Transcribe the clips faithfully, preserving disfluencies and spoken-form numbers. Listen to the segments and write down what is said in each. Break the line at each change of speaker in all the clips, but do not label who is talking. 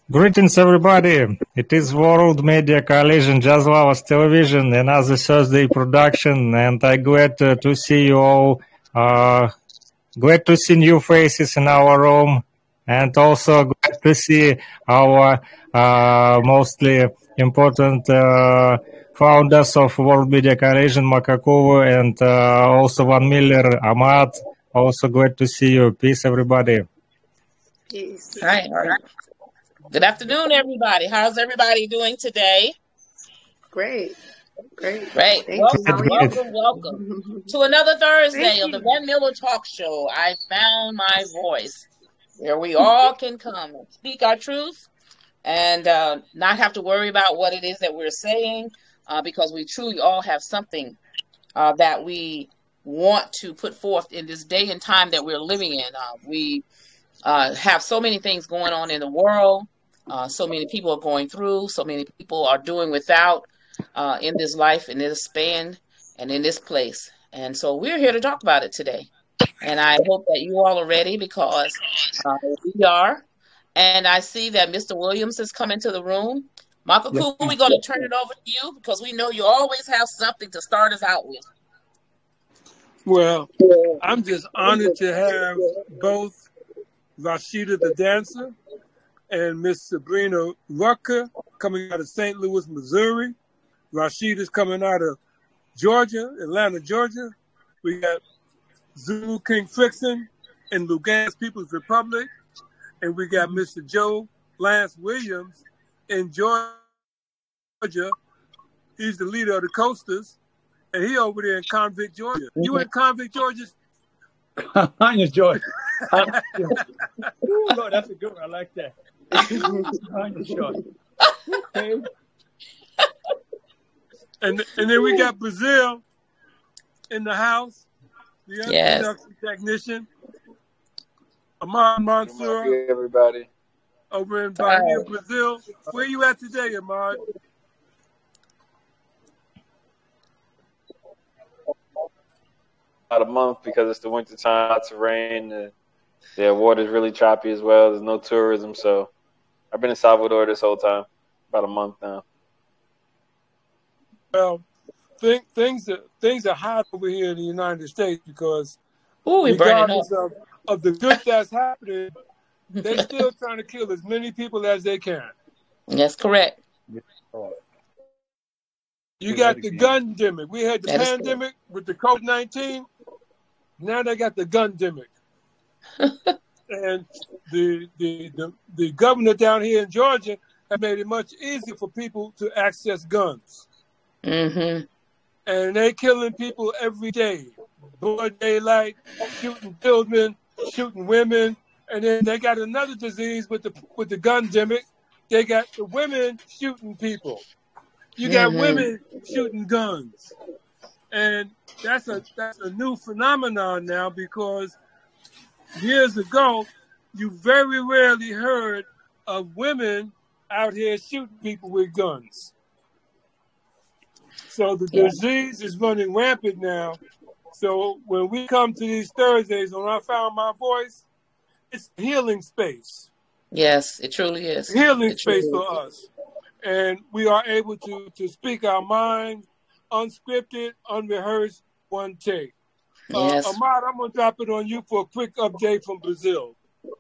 Greetings, everybody. It is World Media Coalition Jazz Lovers Television, another Thursday production, and I'm glad to, to see you all. Uh, glad to see new faces in our room, and also glad to see our uh, mostly important uh, founders of World Media Coalition, Makakova, and uh, also Van Miller, Ahmad. Also glad to see you. Peace, everybody.
Peace.
All right, all right. Good afternoon, everybody. How's everybody doing today?
Great. Great.
Great.
Thank
Welcome,
you. How are
welcome, welcome
you?
to another Thursday
Thank
of the
you.
Van Miller Talk Show. I found my voice where we all can come and speak our truth and uh, not have to worry about what it is that we're saying uh, because we truly all have something uh, that we want to put forth in this day and time that we're living in. Uh, we uh, have so many things going on in the world. Uh, so many people are going through. So many people are doing without uh, in this life, in this span, and in this place. And so we're here to talk about it today. And I hope that you all are ready because uh, we are. And I see that Mister Williams has come into the room. Michael
Yes,
Cool, we're going to turn it over to you because we know you always have something to start us out with.
Well, I'm just honored to have both Rashida the dancer and Miss Sabrina Rucker coming out of Saint Louis, Missouri. Rashida's coming out of Georgia, Atlanta, Georgia. We got Zulu King Frickson in Lugansk People's Republic. And we got Mister Joe Lance Williams in Georgia. He's the leader of the Coasters. And he over there in Convict, Georgia. Mm-hmm. You in Convict, Georgia?
I'm in Georgia. Ooh, Lord, that's a good one. I like that. I'm in Georgia. Okay.
And and then we got Brazil in the house, the
Yes.
production technician, Ahmad Mansour,
Good morning, everybody.
over in Bahia,
Hi.
Brazil. Where you at today, Ahmad?
About a month because it's the winter time, lots of rain. The, the water's really choppy as well. There's no tourism, so I've been in Salvador this whole time, about a month now.
Well, th- things are things are hot over here in the United States because
Ooh, we burning up.
regardless of, of the good that's happening, they're still trying to kill as many people as they can.
That's correct.
You got the gun-demic. We had the
That is
pandemic with the COVID nineteen. Now they got the gun-demic. And the, the the the governor down here in Georgia have made it much easier for people to access guns.
Mm-hmm.
And they killing people every day. Broad daylight, shooting children, shooting women. And then they got another disease with the with the gun-demic. They got the women shooting people. You got
Mm-hmm.
women shooting guns. And that's a that's a new phenomenon now because years ago, you very rarely heard of women out here shooting people with guns. So the
Yeah.
disease is running rampant now. So when we come to these Thursdays, when I found my voice, it's a healing space.
Yes, it truly is.
Healing
It truly
space for
is.
us. And we are able to, to speak our mind, unscripted, unrehearsed, one take. Uh,
Yes.
Ahmad, I'm going to drop it on you for a quick update from Brazil.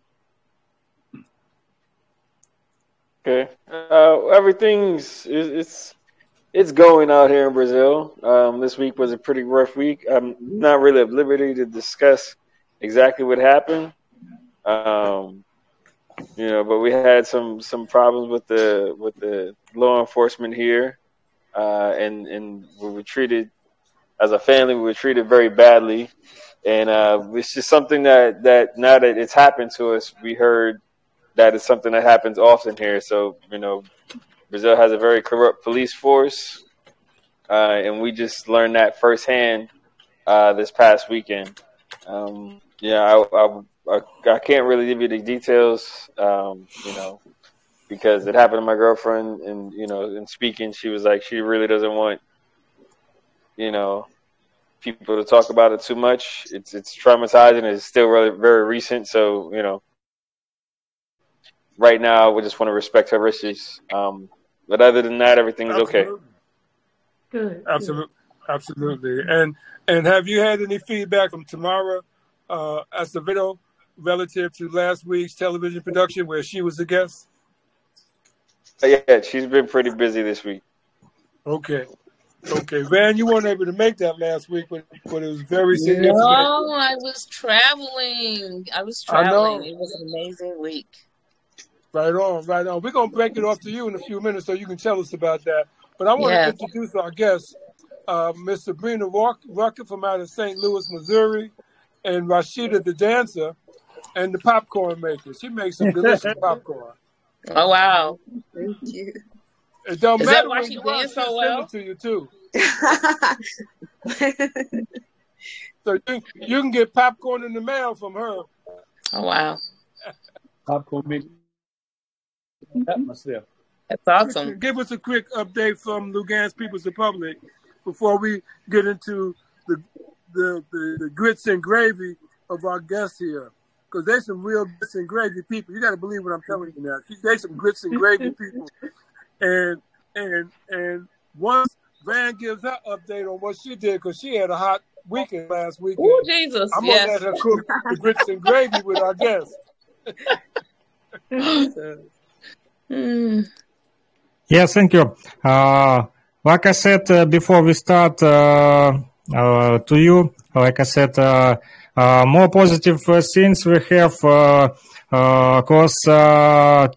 Okay, uh, everything's it's, it's it's going out here in Brazil. Um, this week was a pretty rough week. I'm not really at liberty to discuss exactly what happened. Um, you know, but we had some some problems with the with the law enforcement here, uh, and and we were treated as a family. We were treated very badly, and uh, it's just something that that now that it's happened to us, we heard that is something that happens often here. So you know, Brazil has a very corrupt police force, uh, and we just learned that firsthand uh, this past weekend. Um, yeah, I, I I I can't really give you the details, um, you know, because it happened to my girlfriend, and you know, in speaking, she was like, she really doesn't want, you know, people to talk about it too much. It's it's traumatizing. It's still really very recent, so you know, right now, we just want to respect her wishes. Um, but other than that, everything's okay.
Absolutely.
Good.
Absolutely. Absolutely. And and have you had any feedback from Tamara uh, Acevedo relative to last week's television production where she was a guest?
Yeah, she's been pretty busy this week.
Okay. Okay. Van, you weren't able to make that last week, but, but it was very significant.
No, I was traveling. I was
I know.
traveling. It was an amazing week.
Right on, right on. We're going to break it off to you in a few minutes so you can tell us about that. But I want
Yeah.
to introduce our guest, uh, Miss Sabrina Ruck- Rucker from out of Saint Louis, Missouri, and Rashida the dancer and the popcorn maker. She makes some delicious popcorn.
Oh, wow.
Thank you.
It don't
Is
matter
that why
when
she
you want,
did
she'll
so
send
well?
it to you too. So you, you can get popcorn in the mail from her.
Oh, wow.
Popcorn make atmosphere.
That's awesome.
Give us a quick update from Lugansk People's Republic before we get into the the, the, the grits and gravy of our guests here. Because there's some real grits and gravy people. You got to believe what I'm telling you now. There's some grits and gravy people. And and and once Van gives her update on what she did, because she had a hot weekend last weekend,
Oh, Jesus.
I'm going to
Yes.
let her cook the grits and gravy with our guests.
Mm.
Yes, thank you. Uh, like I said uh, before we start uh, uh, to you, like I said, uh, uh, more positive uh, things we have, uh, uh, cause uh,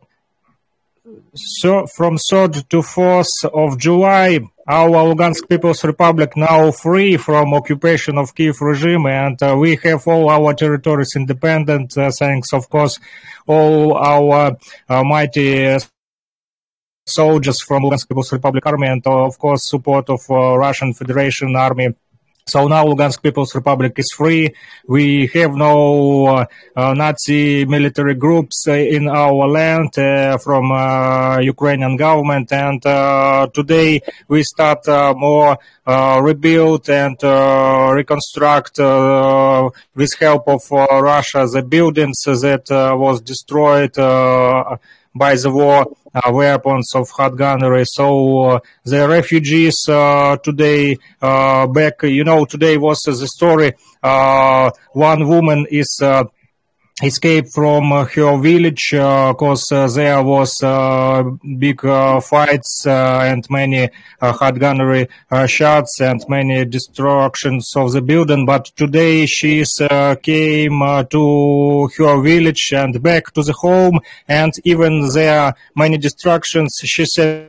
so from third to fourth of July, our Lugansk People's Republic now free from occupation of Kiev regime, and uh, we have all our territories independent, uh, thanks, of course, all our uh, mighty uh, soldiers from Lugansk People's Republic Army and, uh, of course, support of uh, Russian Federation Army. So now Lugansk People's Republic is free. We have no uh, uh, Nazi military groups uh, in our land uh, from uh, Ukrainian government. And uh, today we start uh, more uh, rebuild and uh, reconstruct uh, with help of uh, Russia the buildings that uh, was destroyed uh, by the war, uh, weapons of hot gunnery. So uh, the refugees uh, today uh, back, you know, today was uh, the story. Uh, one woman is uh, escaped from uh, her village because uh, uh, there was uh, big uh, fights uh, and many uh, hot gunnery uh, shots and many destructions of the building. But today she uh, came uh, to her village and back to the home, and even there are many destructions. She said,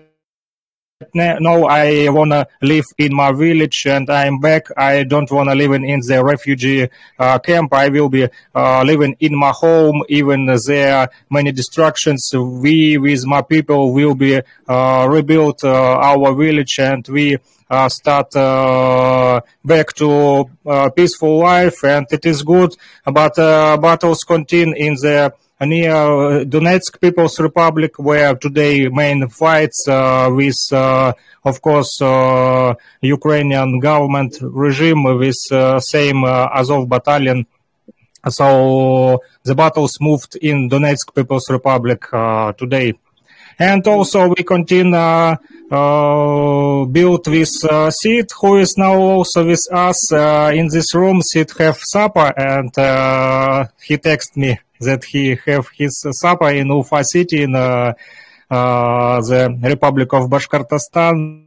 no, I want to live in my village and I'm back. I don't want to live in, in the refugee uh, camp. I will be uh, living in my home. Even there are many destructions, we with my people will be uh, rebuild uh, our village, and we uh, start uh, back to uh, peaceful life, and it is good. But uh, battles continue in the near Donetsk People's Republic, where today main fights uh, with, uh, of course, uh, Ukrainian government regime with uh, same uh, Azov battalion. So the battles moved in Donetsk People's Republic uh, today. And also we continue uh, uh, build with uh, Sid, who is now also with us uh, in this room. Sid have supper, and uh, he texted me that he have his supper in Ufa city in uh, uh, the Republic of Bashkortostan.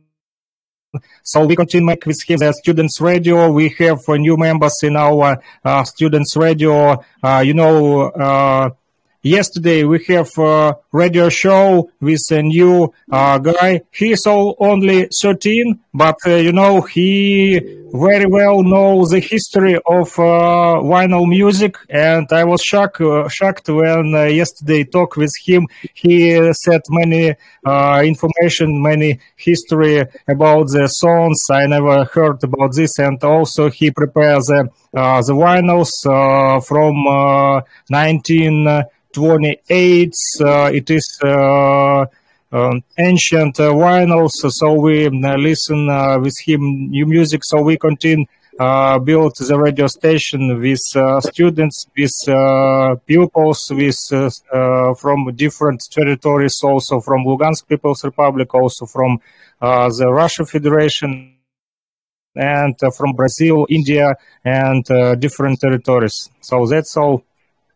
So we continue make with him the Students Radio. We have uh, new members in our uh, Students Radio. Uh, you know, uh, yesterday we have a radio show with a new uh, guy. He is all only thirteen, but uh, you know, he very well knows the history of uh, vinyl music. And I was shocked, uh, shocked when uh, yesterday talk with him. He said many uh, information, many history about the songs. I never heard about this. And also he prepares the, uh, the vinyls uh, from uh, nineteen twenty-eight. Uh, it is uh, um, ancient uh, vinyls, so we uh, listen uh, with him new music. So we continue uh, built the radio station with uh, students, with uh, pupils, with uh, uh, from different territories, also from Lugansk People's Republic, also from uh, the Russian Federation, and uh, from Brazil, India, and uh, different territories. So that's all.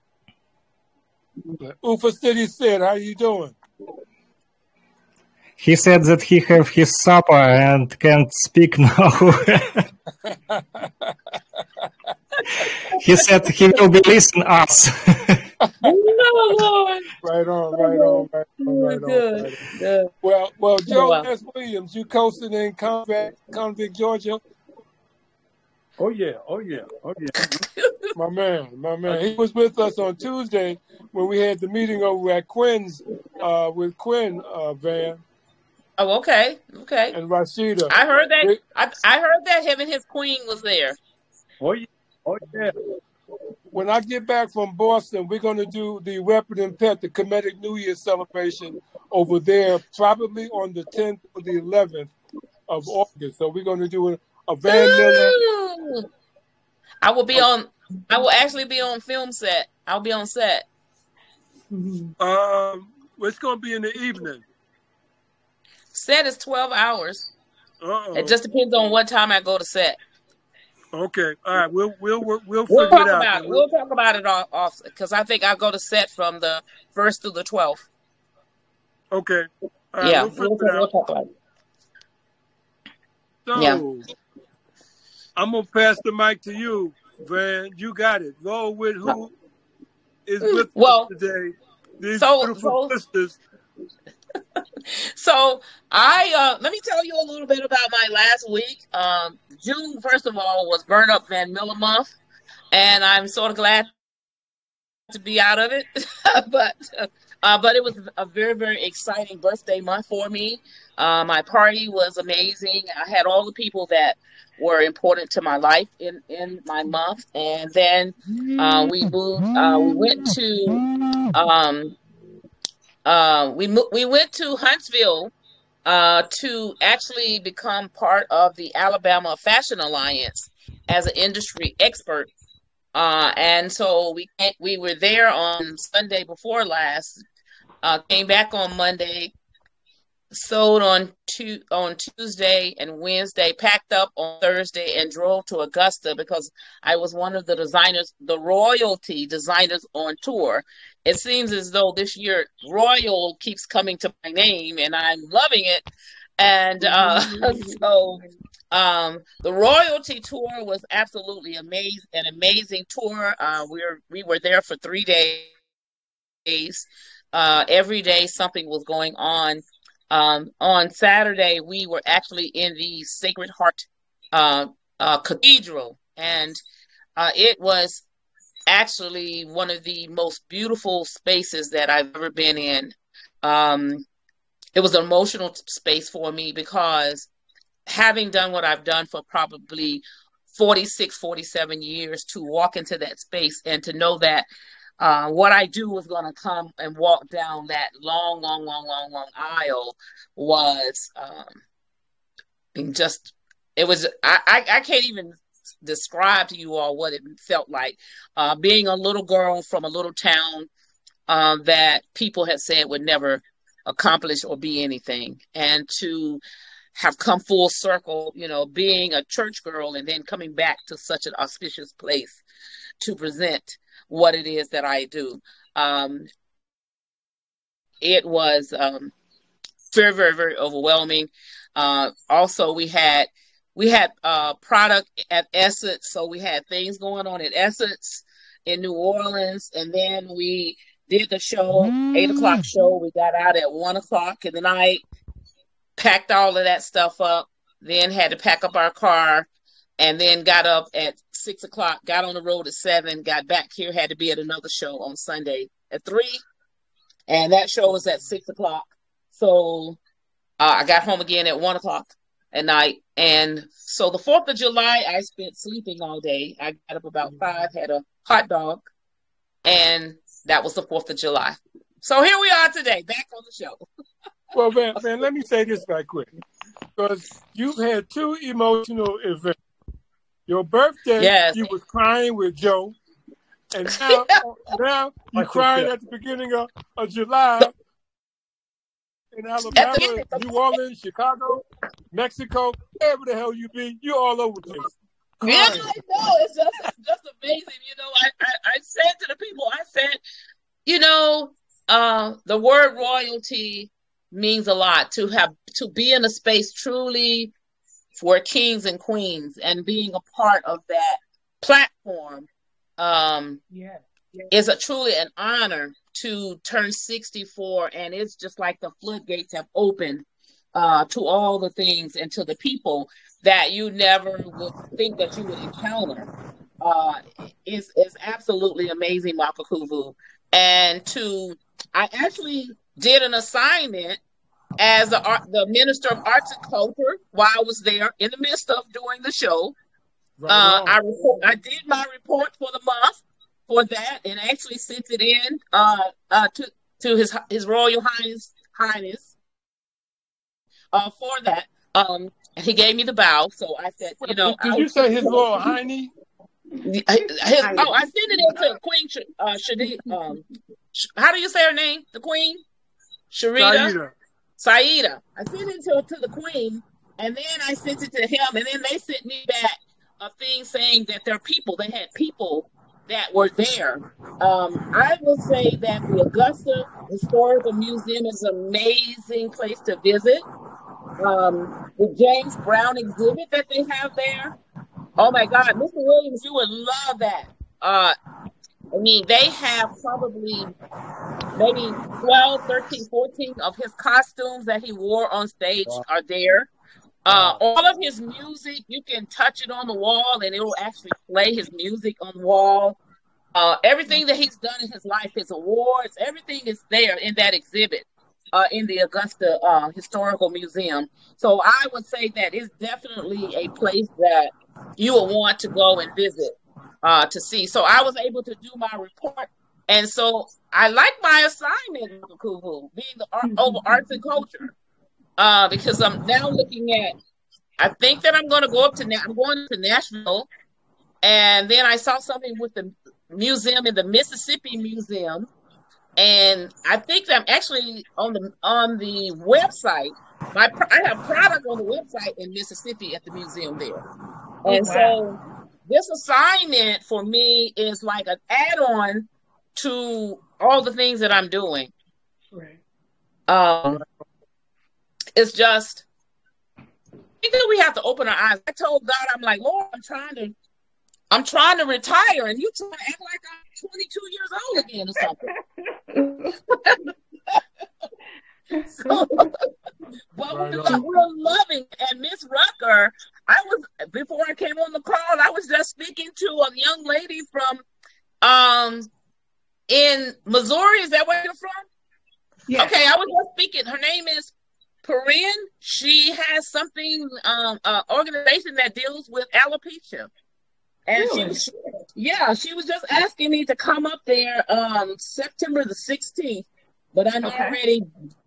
Ufa City said, how you doing?
He said that he have his supper and can't speak now. He said he will be listen us.
No, Lord.
Right on, right on, right on, right on.
Good.
Right on.
Good.
Well, well, Joe
wow.
S. Williams, you coasting in Convict, Convict, Georgia?
Oh yeah, oh yeah, oh yeah.
My man, my man. He was with us on Tuesday when we had the meeting over at Quinn's uh, with Quinn uh, Van
Oh, okay. Okay.
and Rashida.
I heard that.
They-
I, I heard that him and his queen was there.
Oh yeah, oh yeah.
When I get back from Boston, we're going to do the Weapon and Pet, the Comedic New Year celebration over there, probably on the tenth or the eleventh of August. So we're going to do a, a Van Miller.
Ooh. I will be on. I will actually be on film set. I'll be on set.
Mhm.
Um, it's going to be in the evening.
Set is twelve hours.
Uh-oh.
It just depends on what time I go to set.
Okay. All right. We'll we'll we'll, we'll
We'll
figure
talk
it out.
about it. We'll talk about it off because I think I go to set from the first through the twelfth.
Okay. All right,
Yeah,
we'll figure
we'll,
it
we'll
out.
talk about it.
So
Yeah.
I'm gonna pass the mic to you, Van. You got it. Roll with who is with
Well,
us today. These
so-
beautiful
so-
sisters.
So I uh, let me tell you a little bit about my last week. Um, June, first of all, was Burn Up Van Miller month, and I'm sort of glad to be out of it. but uh, but it was a very very exciting birthday month for me. Uh, my party was amazing. I had all the people that were important to my life in in my month, and then uh, we moved. Uh, we went to. Um, Uh, we mo- we went to Huntsville uh, to actually become part of the Alabama Fashion Alliance as an industry expert, uh, and so we we were there on Sunday before last. Uh, came back on Monday, sold on tu- on Tuesday and Wednesday, packed up on Thursday, and drove to Augusta because I was one of the designers, the royalty designers on tour. It seems as though this year Royal keeps coming to my name, and I'm loving it. And uh, so um, the royalty tour was absolutely amazing, an amazing tour. Uh, we were we were there for three days. Uh, every day something was going on. Um, on Saturday, we were actually in the Sacred Heart uh, uh, Cathedral, and uh, it was actually one of the most beautiful spaces that I've ever been in. Um, it was an emotional space for me because having done what I've done for probably forty-six, forty-seven years, to walk into that space and to know that Uh, what I do was going to come and walk down that long, long, long, long, long aisle was um, just, it was, I, I, I can't even describe to you all what it felt like. Uh, being a little girl from a little town uh, that people had said would never accomplish or be anything. And to have come full circle, you know, being a church girl and then coming back to such an auspicious place to present what it is that I do. Um, it was um, very, very, very overwhelming. Uh, also, we had we had uh, product at Essence, so we had things going on at Essence in New Orleans, and then we did the show, eight o'clock show. We got out at one o'clock in the night, packed all of that stuff up, then had to pack up our car, and then got up at six o'clock, got on the road at seven, got back here, had to be at another show on Sunday at three. And that show was at six o'clock. So uh, I got home again at one o'clock at night. And so the fourth of July, I spent sleeping all day. I got up about five, had a hot dog, and that was the fourth of July. So here we are today, back on the show.
Well, Van, Van, let me say this right quick. Because you've had two emotional events. Your birthday,
Yes.
you was crying with Joe. And now, now you're crying at the beginning of, of July in Alabama, New Orleans, Chicago, Mexico, wherever the hell you be, you all over the place.
Yeah, I know. It's just, it's just amazing. You know, I, I, I said to the people, I said, you know, uh, the word royalty means a lot. To have to be in a space truly for kings and queens and being a part of that platform um,
Yeah.
is a truly an honor to turn sixty-four. And it's just like the floodgates have opened uh, to all the things and to the people that you never would think that you would encounter. Uh, is is absolutely amazing, Makakuvu. And to, I actually did an assignment as the art, the Minister of Arts and Culture while I was there in the midst of doing the show.
Right
Uh,
on.
I report, I did my report for the month for that, and actually sent it in uh, uh, to to his his Royal Highness Highness uh, for that. Um, and he gave me the bow, so I said, you know,
Did
I
you
was-
say his Royal Highness?
his, oh, I sent it in to Queen Sh- uh, Shadi. Um, Sh- how do you say her name? The Queen, Sharita.
Saida.
Saida. I sent it to, to the Queen, and then I sent it to him, and then they sent me back a thing saying that their people, they had people that were there. Um, I will say that the Augusta Historical Museum is an amazing place to visit. Um, the James Brown exhibit that they have there. Oh my God, Mister Williams, you would love that. Uh, I mean, they have probably maybe twelve, thirteen, fourteen of his costumes that he wore on stage are there. Uh, all of his music, you can touch it on the wall and it will actually play his music on the wall. Uh, everything that he's done in his life, his awards, everything is there in that exhibit uh, in the Augusta uh, Historical Museum. So I would say that it's definitely a place that you will want to go and visit uh, to see. So I was able to do my report. And so I like my assignment, Kuvu, being the art, over arts and culture, uh, because I'm now looking at, I think that I'm going to go up to, I'm going to Nashville. And then I saw something with the museum in the Mississippi Museum. And I think that I'm actually on the on the website. My I have product on the website in Mississippi at the museum there. And
wow.
so this assignment for me is like an add-on to all the things that I'm doing.
Right.
Um, it's just, I think that we have to open our eyes. I told God, I'm like, Lord, I'm trying to, I'm trying to retire, and you trying to act like I'm twenty-two years old again or something. So, but
Right
we're,
on.
we're loving. And Miss Rucker, I was before I came on the call, I was just speaking to a young lady from um in Missouri. Is that where you're from?
Yeah.
Okay, I was just speaking. Her name is Corinne. She has something, um, uh, organization that deals with alopecia. And
Really?
she, she, yeah, she was just asking me to come up there um September the sixteenth. But I'm
Okay.
already,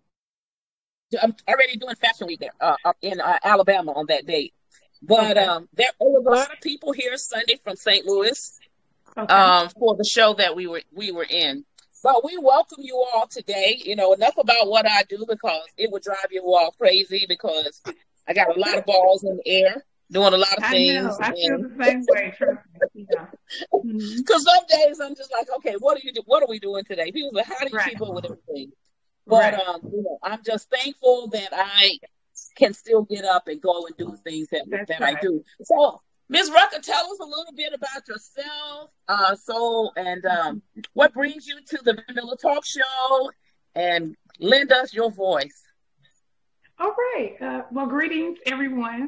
I'm already doing Fashion Week there, uh, up in uh, Alabama on that date. But
Okay.
um, there was a lot of people here Sunday from Saint Louis
Okay.
um for the show that we were we were in. But we welcome you all today. You know, enough about what I do because it would drive you all crazy because I got a lot of balls in the air doing a lot of
I
things.
know. I feel
and-
the same way. Trust me. Yeah. Mhm.
Because some days I'm just like, okay, what are you do? What are we doing today? People are like, how do you
Right.
keep up with everything? But
Right.
um, you know, I'm just thankful that I can still get up and go and do things that
That's
that I
right.
do. So, Miz Rucker, tell us a little bit about yourself, uh, so and um, what brings you to the Vanilla Talk Show, and lend us your voice.
All right. Uh, well, greetings, everyone.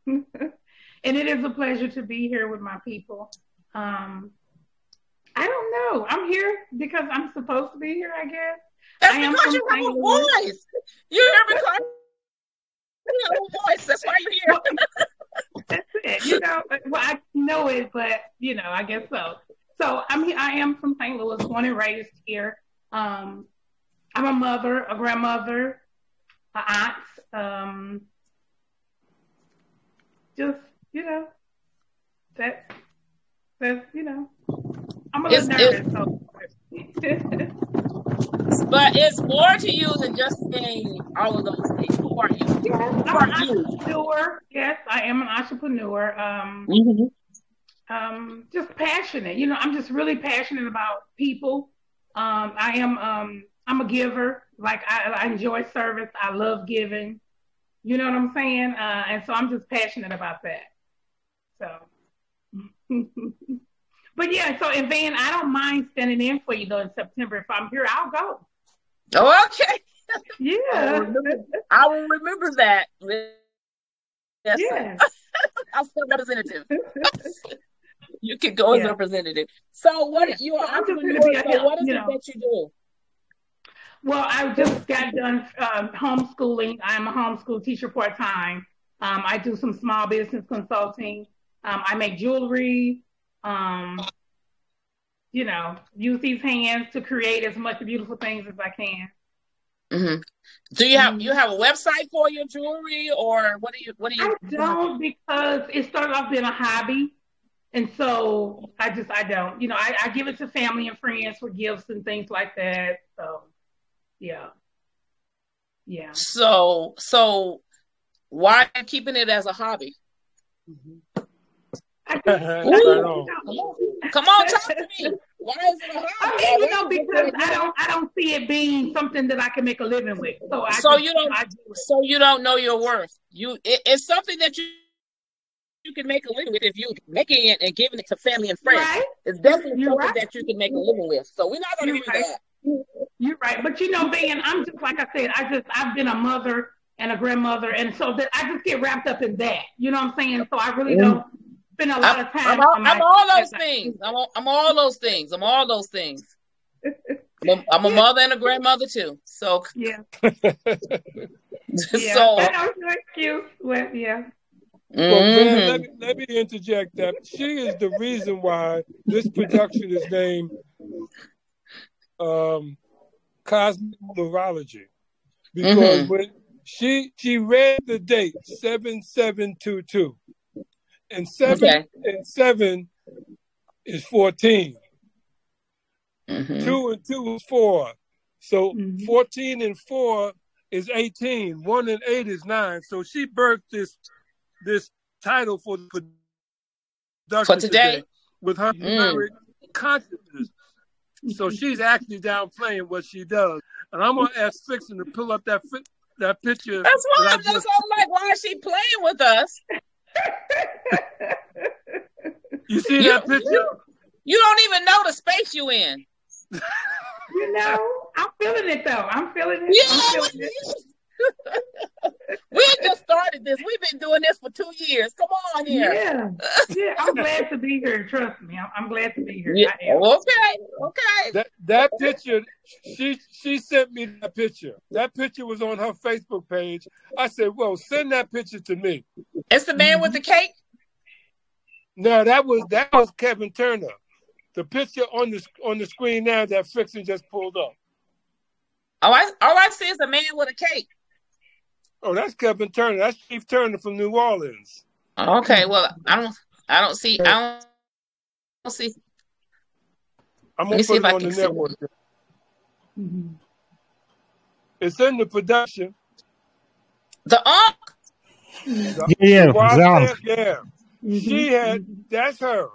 And it is a pleasure to be here with my people. Um, I don't know. I'm here because I'm supposed to be here, I guess.
That's
I am
because
from
you have a
Saint Louis.
voice. You're here because you have a voice. That's why you're here.
Well, that's it. You know, well, I know it, but you know, I guess so. So I'm here. I am from Saint Louis, born and raised here. Um, I'm a mother, a grandmother, an aunt. Um, just you know, that that's you know, I'm a little
It's,
nervous. So.
but it's more to you than just saying all of those things. Who are you?
Yes,
Who
I'm
are
an
you?
entrepreneur. Yes, I am an entrepreneur. Um,
Mm-hmm.
um, just passionate. You know, I'm just really passionate about people. Um, I am. Um, I'm a giver. Like I, I enjoy service. I love giving. You know what I'm saying? Uh, and so I'm just passionate about that. So. But yeah, so and Van, I don't mind standing in for you though in September. If I'm here, I'll go.
Oh, okay.
Yeah.
I will remember, I will remember that. Yes.
Yeah.
I'll still representative. You can go yeah. as a representative. So what yeah. you are so entrepreneur, so help, what is it know. that you do?
Well, I just got done um, homeschooling. I'm a homeschool teacher part-time. Um, I do some small business consulting. Um, I make jewelry. Um, you know, use these hands to create as much beautiful things as I can.
Mm-hmm. Do you have mm-hmm. you have a website for your jewelry, or what do you what do you?
I don't, because it started off being a hobby, and so I just I don't. You know, I, I give it to family and friends for gifts and things like that. So, yeah, yeah.
So so why are you keeping it as a hobby?
Mm-hmm. I just,
Ooh, come, on. come on, talk to me. Why is it a hobby?
I mean, you know, because I don't, I don't see it being something that I can make a living with. So, I
so
just,
you don't,
I do
so you don't know your worth. You, it, it's something that you, you can make a living with if you making it and giving it to family and friends.
Right?
It's definitely
You're
something
right.
that you can make a living with. So we're not going to do
right.
that.
You're right, but you know, Van, I'm just like I said. I just, I've been a mother and a grandmother, and so that I just get wrapped up in that. You know what I'm saying? So I really mm. don't. Spend a lot of time.
I'm, all, I'm all those things. I'm all, I'm all those things. I'm all those things. I'm a, I'm a mother and a grandmother too. So
yeah.
so
yeah. I know it's cute. Well, yeah.
Well, man, let me let me interject that she is the reason why this production is named um, Cosmic Neurology, because mm-hmm. when she she read the date seven seven two two. And seven okay. and seven is fourteen. Mm-hmm. Two and two is four. So mm-hmm. fourteen and four is eighteen. One and eight is nine. So she birthed this this title for the production
for today,
today with her mm. consciousness. So she's actually downplaying what she does. And I'm gonna ask Fixin to pull up that that picture.
That's why
that
I'm just like, why is she playing with us?
You see
you,
that picture?
You, you don't even know the space you in.
You know, I'm feeling it though. I'm feeling it.
Yeah,
I'm feeling it.
We just started this. We've been doing this for two years. Come on here.
Yeah, yeah. I'm glad to be here. Trust me, I'm, I'm glad to be here.
Yeah. Okay, okay.
That that picture, she she sent me that picture. That picture was on her Facebook page. I said, "Well, send that picture to me."
It's the man with the cake.
No, that was that was Kevin Turner. The picture on the on the screen now that Fixin just pulled up.
Oh, I all I see is a man with a cake.
Oh, that's Kevin Turner. That's Chief Turner from New Orleans.
Okay, well, I don't, I don't see, I don't, I don't see.
I'm gonna put it on the network. Mm-hmm. It's in the production.
The Unc.
The, yeah,
the yeah. Mm-hmm. She had. That's her.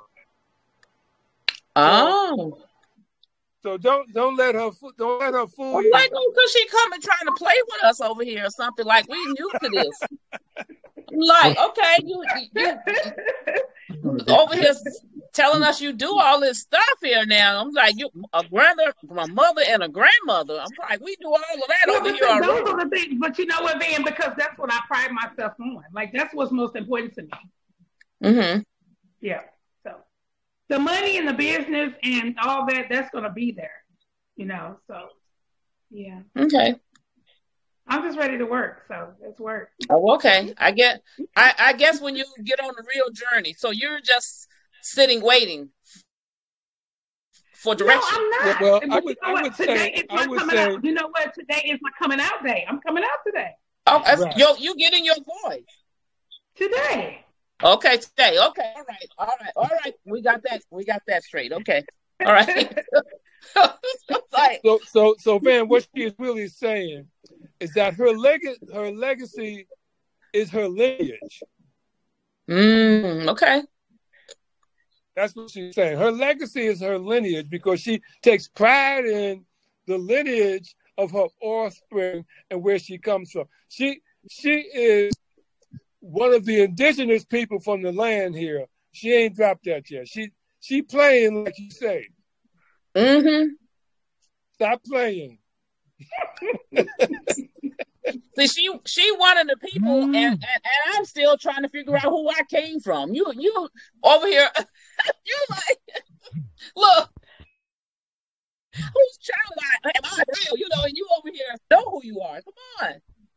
Oh.
So don't don't let her don't let her fool
I'm
you.
like, oh, cause she coming trying to play with us over here or something. Like we new to this. I'm like, okay, you, you, you over here telling us you do all this stuff here now. I'm like, you a grandmother, my mother and a grandmother. I'm like, we do all of that
yeah,
over here already.
Those are the things, but you know what, Van? Because that's what I pride myself on. Like that's what's most important to me.
Mm-hmm.
Yeah. The money and the business and all that, that's going to be there, you know, so, yeah.
Okay.
I'm just ready to work, so let's work.
Oh, okay. I get, I, I guess when you get on the real journey, so you're just sitting waiting for direction.
No, I'm not.
Well,
but
I would,
you know
I would
today
say,
is my
I would
coming
say,
out. You know what? Today is my coming out day. I'm coming out today.
Oh, right. you you getting your voice.
Today.
Okay, today. Okay, all right, all right, all right. We got that. We got that straight. Okay, all right. Like,
So, so, so, Van, what she is really saying is that her leg, her legacy, is her lineage.
mm, okay.
That's what she's saying. Her legacy is her lineage because she takes pride in the lineage of her offspring and where she comes from. She, she is one of the indigenous people from the land here. She ain't dropped that yet. She, she playing like you say.
Mm-hmm.
Stop playing.
See, she she one of the people, and, and, and I'm still trying to figure out who I came from. You you over here, you like, look, whose child I am I real? You know, and you over here know who you are. Come on.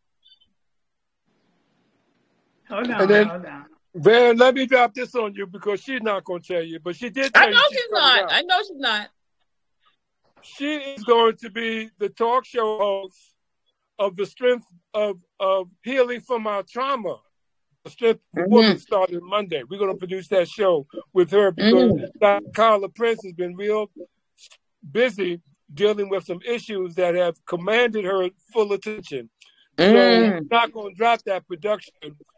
Hold on,
And then,
hold on.
Van, let me drop this on you because she's not going to tell you, but she did tell
I know
you
she's
coming
not.
out.
I know she's not.
She is going to be the talk show host of the strength of, of healing from our trauma. The Strength of the
Mhm.
Woman started Monday. We're going to produce that show with her because
Mhm.
Doctor Carla Prince has been real busy dealing with some issues that have commanded her full attention. So
Mm.
we're not going to drop that production.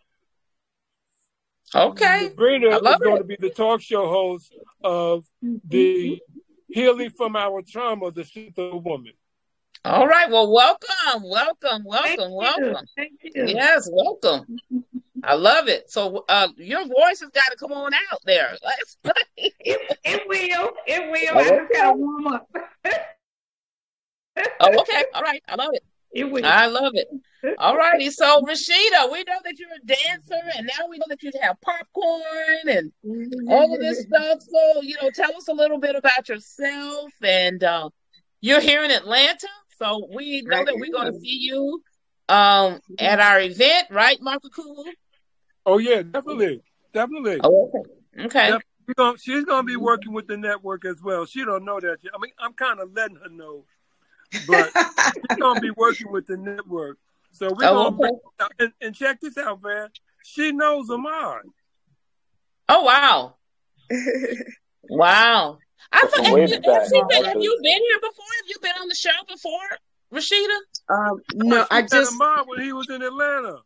Okay.
Sabrina
I
is
love
going
it.
to be the talk show host of the Healing from Our Trauma, the Strength of a Woman.
All right. Well, welcome, welcome,
Thank
welcome,
you.
welcome.
Thank you.
Yes, welcome. I love it. So, uh, your voice has got to come on out there. Let's
It, it will. It will. I just gotta warm up.
Oh, okay. All right. I love it.
It will.
I love it. All righty. So, Rashida, we know that you're a dancer, and now we know that you have popcorn and all of this stuff. So, you know, tell us a little bit about yourself. And uh, you're here in Atlanta, so we know that we're going to see you um, at our event, right, Marco Cool?
Oh, yeah, definitely. Definitely.
Oh, okay. Okay.
Def- she's gonna- She's going to be working with the network as well. She don't know that yet. I mean, I'm kind of letting her know. But she's going to be working with the network. So we're
Oh,
going
okay.
to, and, and check this out, man. She knows Ahmad.
Oh, wow. Wow. I thought, have,
Way
you,
back,
has he been, have
actually.
you been here before? Have you been on the show before, Rashida?
Um, no,
She
I
met
just
Ahmad when he was in Atlanta.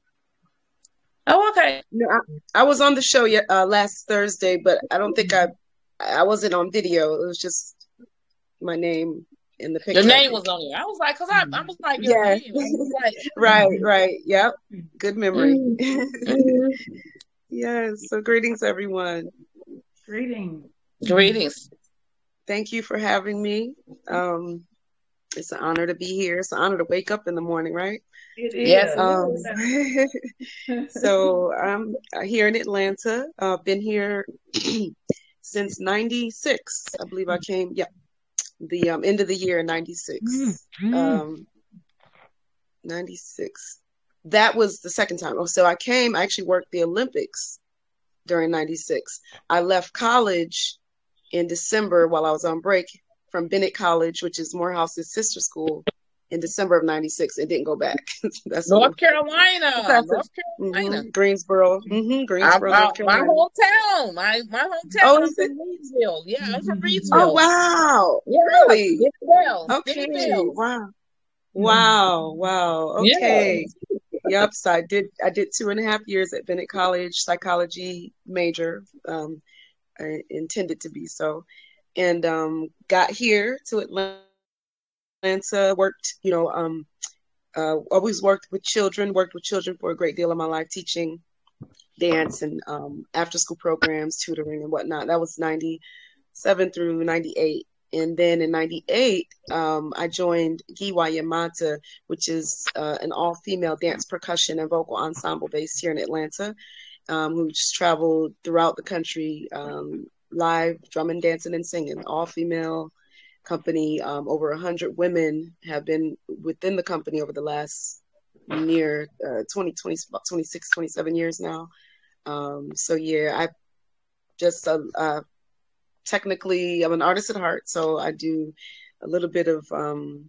Oh, okay.
no, I, I was on the show yet uh, last Thursday, but I don't think I I wasn't on video. It was just my name in the picture.
Your
I
name
think.
was on here. I was like, because I, I was like, your
Yeah.
name. I was like,
Right, right. Yep. Good memory.
mhm.
Yes. So greetings, everyone.
Greetings.
Greetings.
Thank you for having me. Um, it's an honor to be here. It's an honor to wake up in the morning, right?
It is.
Yes, it
Um, so I'm here in Atlanta. I've uh, been here since ninety-six. I believe I came, yeah, the um, end of the year in ninety-six. Um, ninety-six. That was the second time. Oh, so I came, I actually worked the Olympics during ninety-six. I left college in December while I was on break from Bennett College, which is Morehouse's sister school, in December of ninety-six and didn't go back. That's
North
what,
Carolina.
that's
North
it.
Carolina.
Mhm. Greensboro. hmm
I,
Greensboro,
I,
North
my
Carolina.
hometown. My my hometown.
Oh,
I'm
is it?
from Reedsville. Yeah, I'm from
Oh,
Reedsville.
wow.
Yeah,
Really?
Benny Bells.
Okay.
Benny Bells.
Wow. Wow. Wow.
Yeah.
Okay. Yep. So I did I did two and a half years at Bennett College, psychology major. Um, I intended to be so. And um, got here to Atlanta, worked, you know, um, uh, always worked with children, worked with children for a great deal of my life, teaching dance and um, after school programs, tutoring and whatnot. That was ninety-seven through ninety-eight. And then in ninety-eight, um, I joined Giwa Yamata, which is uh, an all-female dance percussion and vocal ensemble based here in Atlanta, um, who's traveled throughout the country, um, live drumming, dancing, and singing, all-female company. Um, over one hundred women have been within the company over the last near uh, twenty, twenty, about twenty-six, twenty-seven years now. Um, so yeah, I just uh, uh, technically I'm an artist at heart, so I do a little bit of um,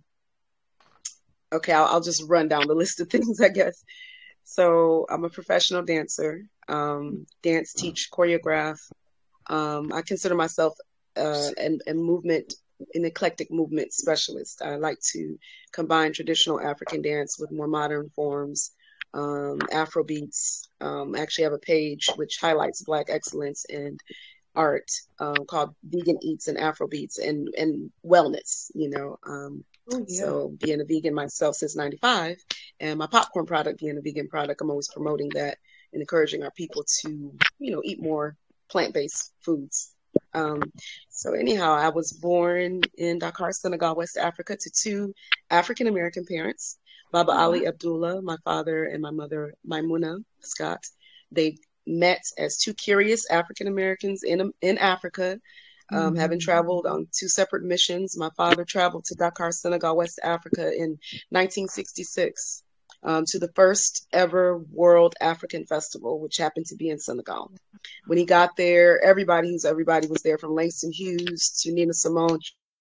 okay, I'll, I'll just run down the list of things, I guess. So I'm a professional dancer. um, dance teach, choreograph. Um, I consider myself uh, an, a movement, an eclectic movement specialist. I like to combine traditional African dance with more modern forms, um, Afro beats. Um, I actually have a page which highlights Black excellence and art um, called Vegan Eats and Afro Beats and, and wellness, you know. Um, oh, yeah. So being a vegan myself since ninety-five and my popcorn product being a vegan product, I'm always promoting that and encouraging our people to, you know, eat more plant-based foods. Um, so anyhow, I was born in Dakar, Senegal, West Africa, to two African-American parents, Baba Ali Abdullah, my father, and my mother, Maimuna Scott. They met as two curious African-Americans in, in Africa, um, mm-hmm. having traveled on two separate missions. My father traveled to Dakar, Senegal, West Africa in nineteen sixty-six. Um, to the first ever World African Festival, which happened to be in Senegal. When he got there, everybody who's everybody was there, from Langston Hughes to Nina Simone.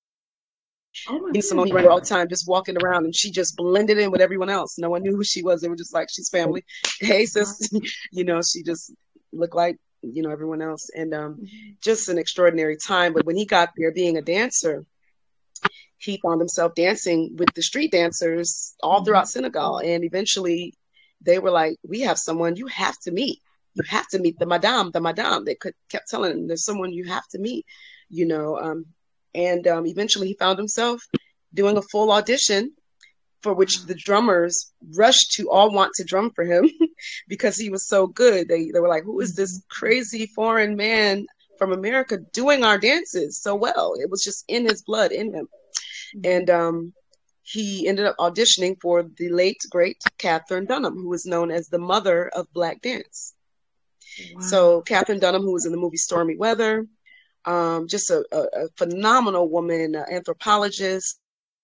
Oh Nina Simone, he ran all the time, just walking around, and she just blended in with everyone else. No one knew who she was. They were just like, she's family. Hey, sis, you know, she just looked like, you know, everyone else. And um, just an extraordinary time. But when he got there, being a dancer, he found himself dancing with the street dancers all throughout Senegal. And eventually they were like, we have someone you have to meet. You have to meet the madame, the madame. They could, kept telling him, there's someone you have to meet, you know. Um, and um, eventually he found himself doing a full audition for which the drummers rushed to all want to drum for him because he was so good. They, they were like, who is this crazy foreign man from America doing our dances so well? It was just in his blood, in him. And um, he ended up auditioning for the late, great Katherine Dunham, who is known as the mother of Black dance. Wow. So Katherine Dunham, who was in the movie Stormy Weather, um, just a, a, a phenomenal woman, uh, anthropologist,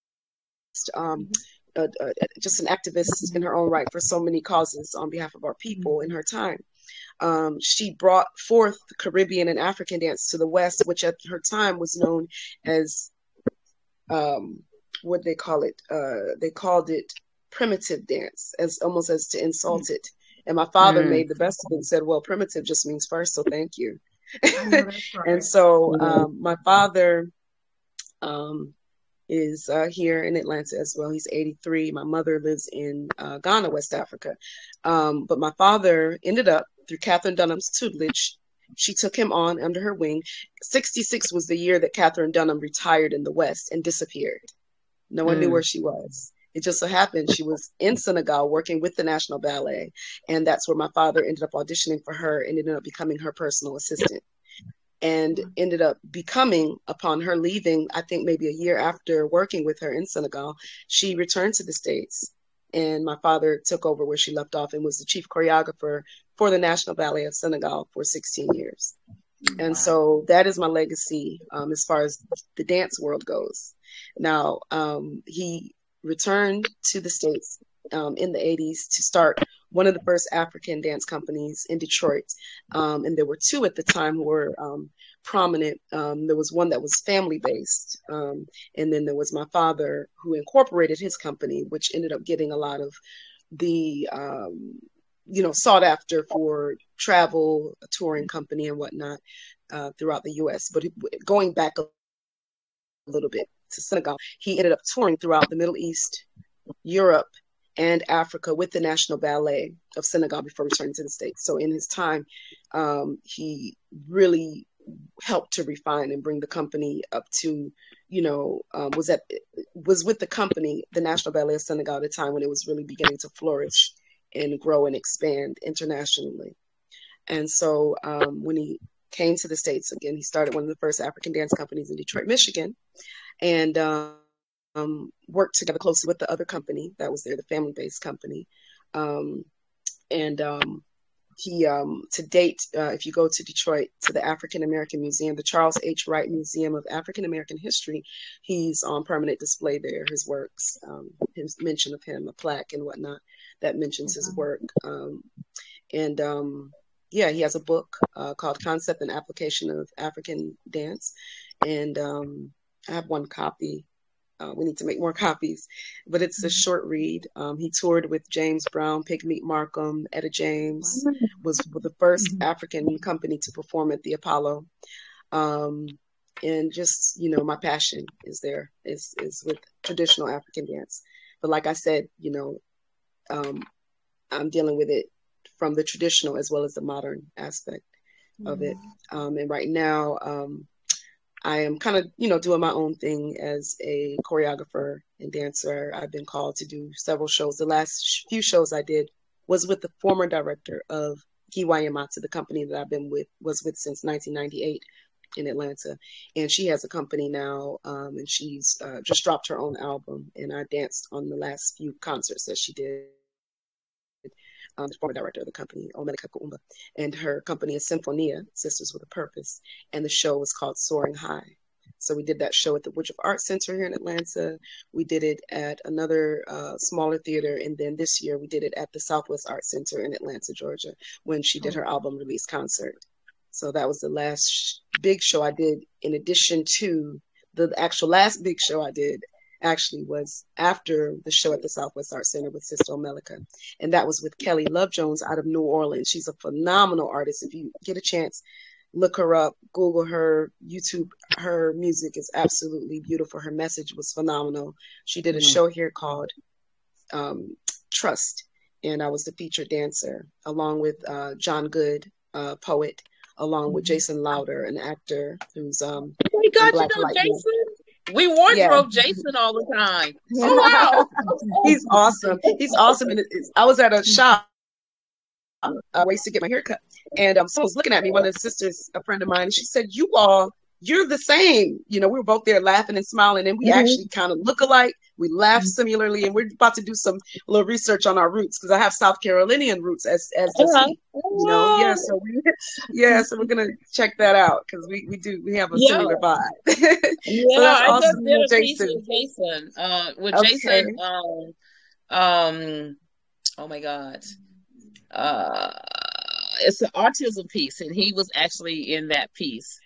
um, uh, uh, just an activist in her own right for so many causes on behalf of our people in her time. Um, she brought forth the Caribbean and African dance to the West, which at her time was known as um what they call it uh they called it primitive dance, as almost as to insult it. And my father mm. made the best of it and said, well, primitive just means first, so thank you. Right. And so um my father um is uh here in Atlanta as well. He's eighty-three. My mother lives in uh, Ghana, West Africa. Um but my father ended up, through Katherine Dunham's tutelage, she took him on under her wing. sixty-six was the year that Katherine Dunham retired in the West and disappeared. No one mm. knew where she was. It just so happened she was in Senegal working with the National Ballet. And that's where my father ended up auditioning for her and ended up becoming her personal assistant. And ended up becoming, upon her leaving, I think maybe a year after working with her in Senegal, she returned to the States. And my father took over where she left off and was the chief choreographer for the National Ballet of Senegal for sixteen years. And so that is my legacy um, as far as the dance world goes. Now, um, he returned to the States um, in the eighties to start one of the first African dance companies in Detroit. Um, and there were two at the time who were um, prominent. Um, there was one that was family-based. Um, and then there was my father, who incorporated his company, which ended up getting a lot of the um, you know, sought after for travel, a touring company and whatnot uh, throughout the U S. But going back a little bit to Senegal, he ended up touring throughout the Middle East, Europe, and Africa with the National Ballet of Senegal before returning to the States. So in his time, um, he really helped to refine and bring the company up to, you know, um, was at was with the company, the National Ballet of Senegal, at a time when it was really beginning to flourish and grow and expand internationally. And so um, when he came to the States, again, he started one of the first African dance companies in Detroit, Michigan, and um, um, worked together closely with the other company that was there, the family-based company. Um, and um, he, um, to date, uh, if you go to Detroit, to the African American Museum, the Charles H. Wright Museum of African American History, he's on permanent display there, his works, um, his mention of him, a plaque and whatnot that mentions his work. Um, and um, yeah, he has a book uh, called Concept and Application of African Dance. And um, I have one copy Uh, we need to make more copies, but it's a short read. Um, he toured with James Brown, Pigmeat Markham, Etta James, was the first African company to perform at the Apollo. Um, and just, you know, my passion is there, is, is with traditional African dance. But like I said, you know, um, I'm dealing with it from the traditional as well as the modern aspect of it. Um, and right now, um, I am kind of, you know, doing my own thing as a choreographer and dancer. I've been called to do several shows. The last few shows I did was with the former director of Giwa Yamata, the company that I've been with, was with since nineteen ninety-eight in Atlanta. And she has a company now, um, and she's uh, just dropped her own album. And I danced on the last few concerts that she did. Um, the former director of the company, Omelika Kuumba, and her company is Symphonia, Sisters with a Purpose, and the show was called Soaring High. So we did that show at the Woodruff Arts Center here in Atlanta. We did it at another uh, smaller theater, and then this year we did it at the Southwest Arts Center in Atlanta, Georgia, when she did her album release concert. So that was the last sh- big show I did, in addition to the actual last big show I did actually was after the show at the Southwest Arts Center with Sister Omelika. And that was with Kelly Love Jones out of New Orleans. She's a phenomenal artist. If you get a chance, look her up, Google her, YouTube. Her music is absolutely beautiful. Her message was phenomenal. She did a mm-hmm. show here called um, Trust. And I was the featured dancer along with uh, John Good, uh, poet, along with Jason Lauder, an actor who's um,
oh my God, you know Jason? We wardrobe yeah. Jason all the time. Oh, wow.
He's awesome. He's awesome. And it's, I was at a shop, uh, ways to get my hair cut. And um, someone was looking at me, one of the sisters, a friend of mine, and she said, you all, you're the same. You know, we were both there laughing and smiling, and we mm-hmm. actually kind of look alike. We laugh mm-hmm. similarly, and we're about to do some little research on our roots, because I have South Carolinian roots as as does uh-huh. he. You know, yeah. So we, yeah, so we're gonna check that out, because we, we do we have a yeah. similar vibe.
yeah, so that's I awesome. just did a piece with Jason. Uh, with okay. Jason, um, um, oh my God, uh, it's an autism piece, and he was actually in that piece.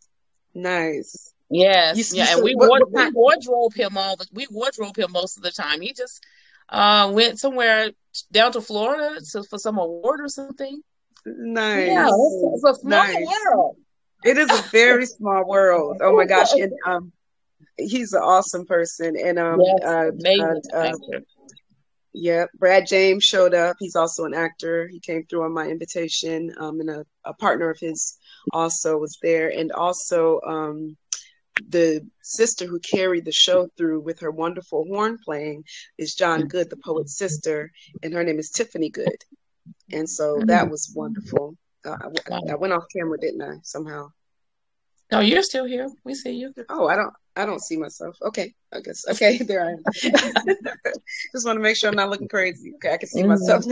Nice.
Yes, you, yeah, and we, what, ward, what, we wardrobe him all the we wardrobe him most of the time. He just uh, went somewhere down to Florida to, for some award or something.
Nice.
Yeah, it's, it's a small nice. world.
It is a very small world. Oh my gosh, and um, he's an awesome person. And um,
yes,
uh,
amazing
uh, uh, yeah, Brad James showed up. He's also an actor. He came through on my invitation. Um, and a, a partner of his also was there, and also um. the sister who carried the show through with her wonderful horn playing is John Good, the poet's sister, and her name is Tiffany Good. And so that was wonderful. Uh, I, I went off camera, didn't I? Somehow.
No, you're still here. We see you.
Oh, I don't. I don't see myself. Okay, I guess. Okay, there I am. Just want to make sure I'm not looking crazy. Okay, I can see mm-hmm. myself.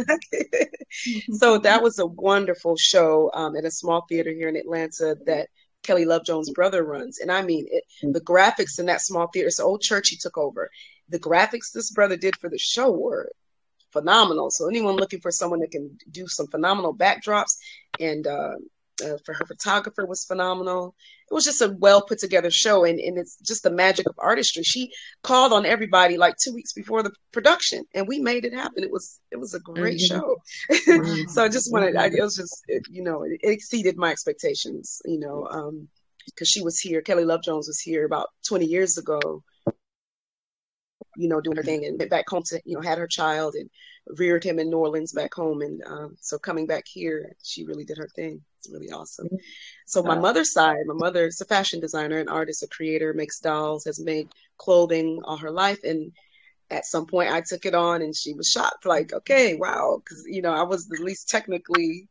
So that was a wonderful show um, at a small theater here in Atlanta that Kelly Love Jones' brother runs. And I mean, it, the graphics in that small theater, it's an old church he took over. The graphics this brother did for the show were phenomenal. So anyone looking for someone that can do some phenomenal backdrops, and uh, uh, for her photographer was phenomenal. It was just a well put together show. And, and it's just the magic of artistry. She called on everybody like two weeks before the production, and we made it happen. It was, it was a great mm-hmm. show. Mm-hmm. So I just wanted, I, it was just, it, you know, it, it exceeded my expectations, you know, um, because she was here. Kelly Love Jones was here about twenty years ago, you know, doing her thing, and went back home to, you know, had her child and reared him in New Orleans back home. And um, so coming back here, she really did her thing. It's really awesome. So my mother's side, my mother's a fashion designer, an artist, a creator, makes dolls, has made clothing all her life. And at some point I took it on, and she was shocked, like, okay, wow. Because, you know, I was the least technically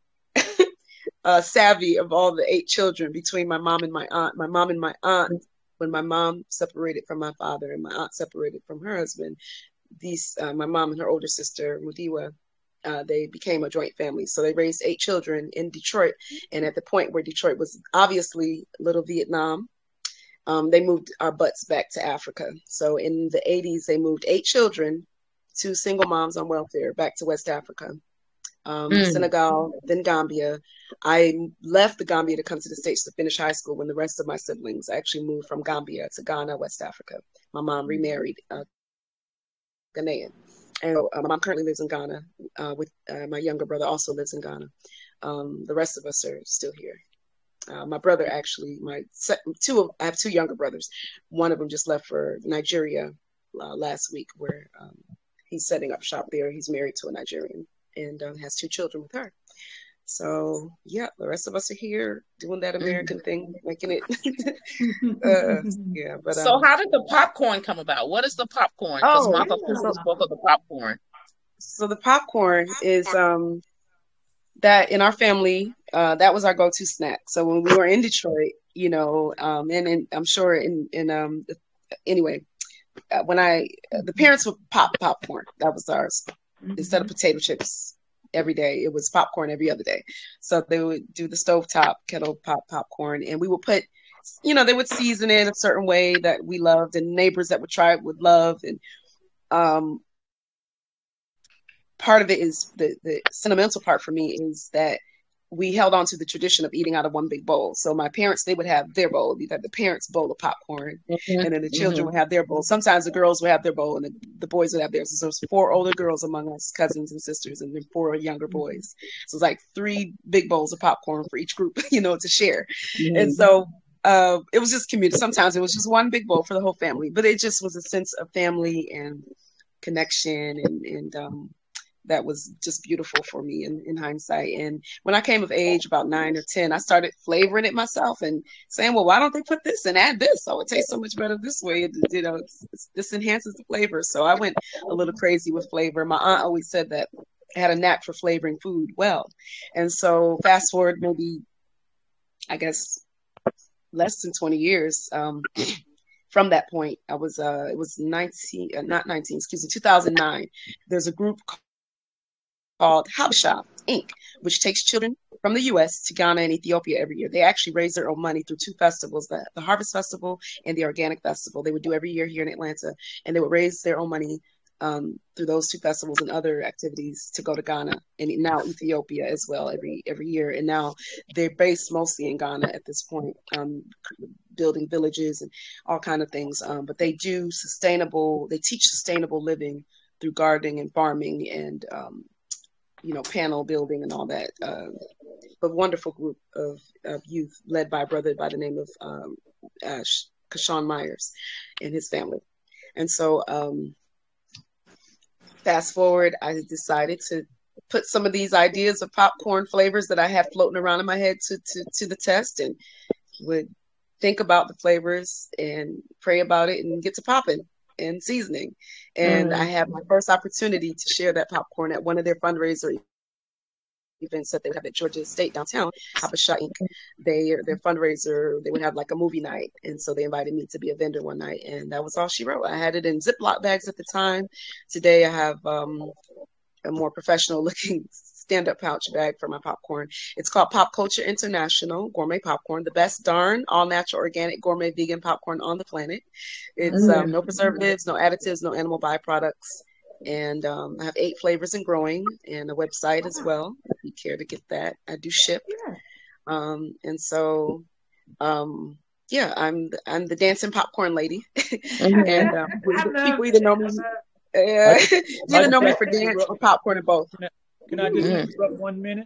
uh, savvy of all the eight children between my mom and my aunt. My mom and my aunt, when my mom separated from my father and my aunt separated from her husband, these uh, my mom and her older sister, Mudiwa, uh, they became a joint family. So they raised eight children in Detroit. And at the point where Detroit was obviously little Vietnam, um, they moved our butts back to Africa. So in the eighties, they moved eight children, two single moms on welfare, back to West Africa. um,
Mm.
Senegal, then Gambia. I left the Gambia to come to the States to finish high school when the rest of my siblings actually moved from Gambia to Ghana, West Africa. My mom remarried a Ghanaian. And uh, my mom currently lives in Ghana uh, with uh, my younger brother also lives in Ghana. Um, the rest of us are still here. Uh, my brother actually, my two of, I have two younger brothers. One of them just left for Nigeria uh, last week, where um, he's setting up shop there. He's married to a Nigerian and um, has two children with her. So yeah, the rest of us are here doing that American mm. thing, making it. uh, yeah, but
so
um,
how did the popcorn come about? What is the popcorn? Because
oh,
Martha
so,
spoke of the popcorn.
So the popcorn is um. that in our family, uh, that was our go-to snack. So when we were in Detroit, you know, um, and, and I'm sure in, in um, anyway, uh, when I, uh, the parents would pop popcorn. That was ours. Mm-hmm. Instead of potato chips every day, it was popcorn every other day. So they would do the stovetop kettle pop popcorn, and we would put, you know, they would season it a certain way that we loved, and neighbors that would try it would love. And um, part of it is the, the sentimental part for me is that we held on to the tradition of eating out of one big bowl. So my parents, they would have their bowl. You'd have the parents' bowl of popcorn, mm-hmm. and then the children mm-hmm. would have their bowl. Sometimes the girls would have their bowl, and the, the boys would have theirs. So there's four older girls among us, cousins and sisters, and then four younger boys. So it's like three big bowls of popcorn for each group, you know, to share. Mm-hmm. And so uh, it was just community. Sometimes it was just one big bowl for the whole family, but it just was a sense of family and connection, and, and um, that was just beautiful for me in, in hindsight. And when I came of age, about nine or ten, I started flavoring it myself and saying, well, why don't they put this and add this? Oh, it tastes so much better this way. It, you know, it's, it's, this enhances the flavor. So I went a little crazy with flavor. My aunt always said that I had a knack for flavoring food well. And so fast forward maybe, I guess, less than twenty years um, from that point, I was, uh, it was nineteen, uh, not nineteen, excuse me, two thousand nine. There's a group called called Habesha Incorporated, which takes children from the U S to Ghana and Ethiopia every year. They actually raise their own money through two festivals, the, the Harvest Festival and the Organic Festival. They would do every year here in Atlanta, and they would raise their own money um, through those two festivals and other activities to go to Ghana and now Ethiopia as well every every year. And now they're based mostly in Ghana at this point, um, building villages and all kind of things. Um, but they do sustainable, they teach sustainable living through gardening and farming and um, you know, panel building and all that. Uh, but wonderful group of, of youth led by a brother by the name of um, uh, Kashawn Myers and his family. And so um, fast forward, I decided to put some of these ideas of popcorn flavors that I had floating around in my head to, to, to the test, and would think about the flavors and pray about it and get to popping and seasoning. And mm-hmm. I had my first opportunity to share that popcorn at one of their fundraiser events that they would have at Georgia State downtown, Habesha Incorporated. They, their fundraiser, they would have like a movie night. And so they invited me to be a vendor one night, and that was all she wrote. I had it in Ziploc bags at the time. Today I have um, a more professional looking stand-up pouch bag for my popcorn. It's called Pop Culture International Gourmet Popcorn, the best darn all-natural, organic, gourmet, vegan popcorn on the planet. It's mm. um, no preservatives, no additives, no animal byproducts. And um, I have eight flavors and growing, and a website as well, if you care to get that. I do ship. Yeah. Um, and so, um, yeah, I'm the, I'm the dancing popcorn lady. And um, people either know me, uh, either know me for dance or popcorn or both.
Can I just mm. interrupt one minute?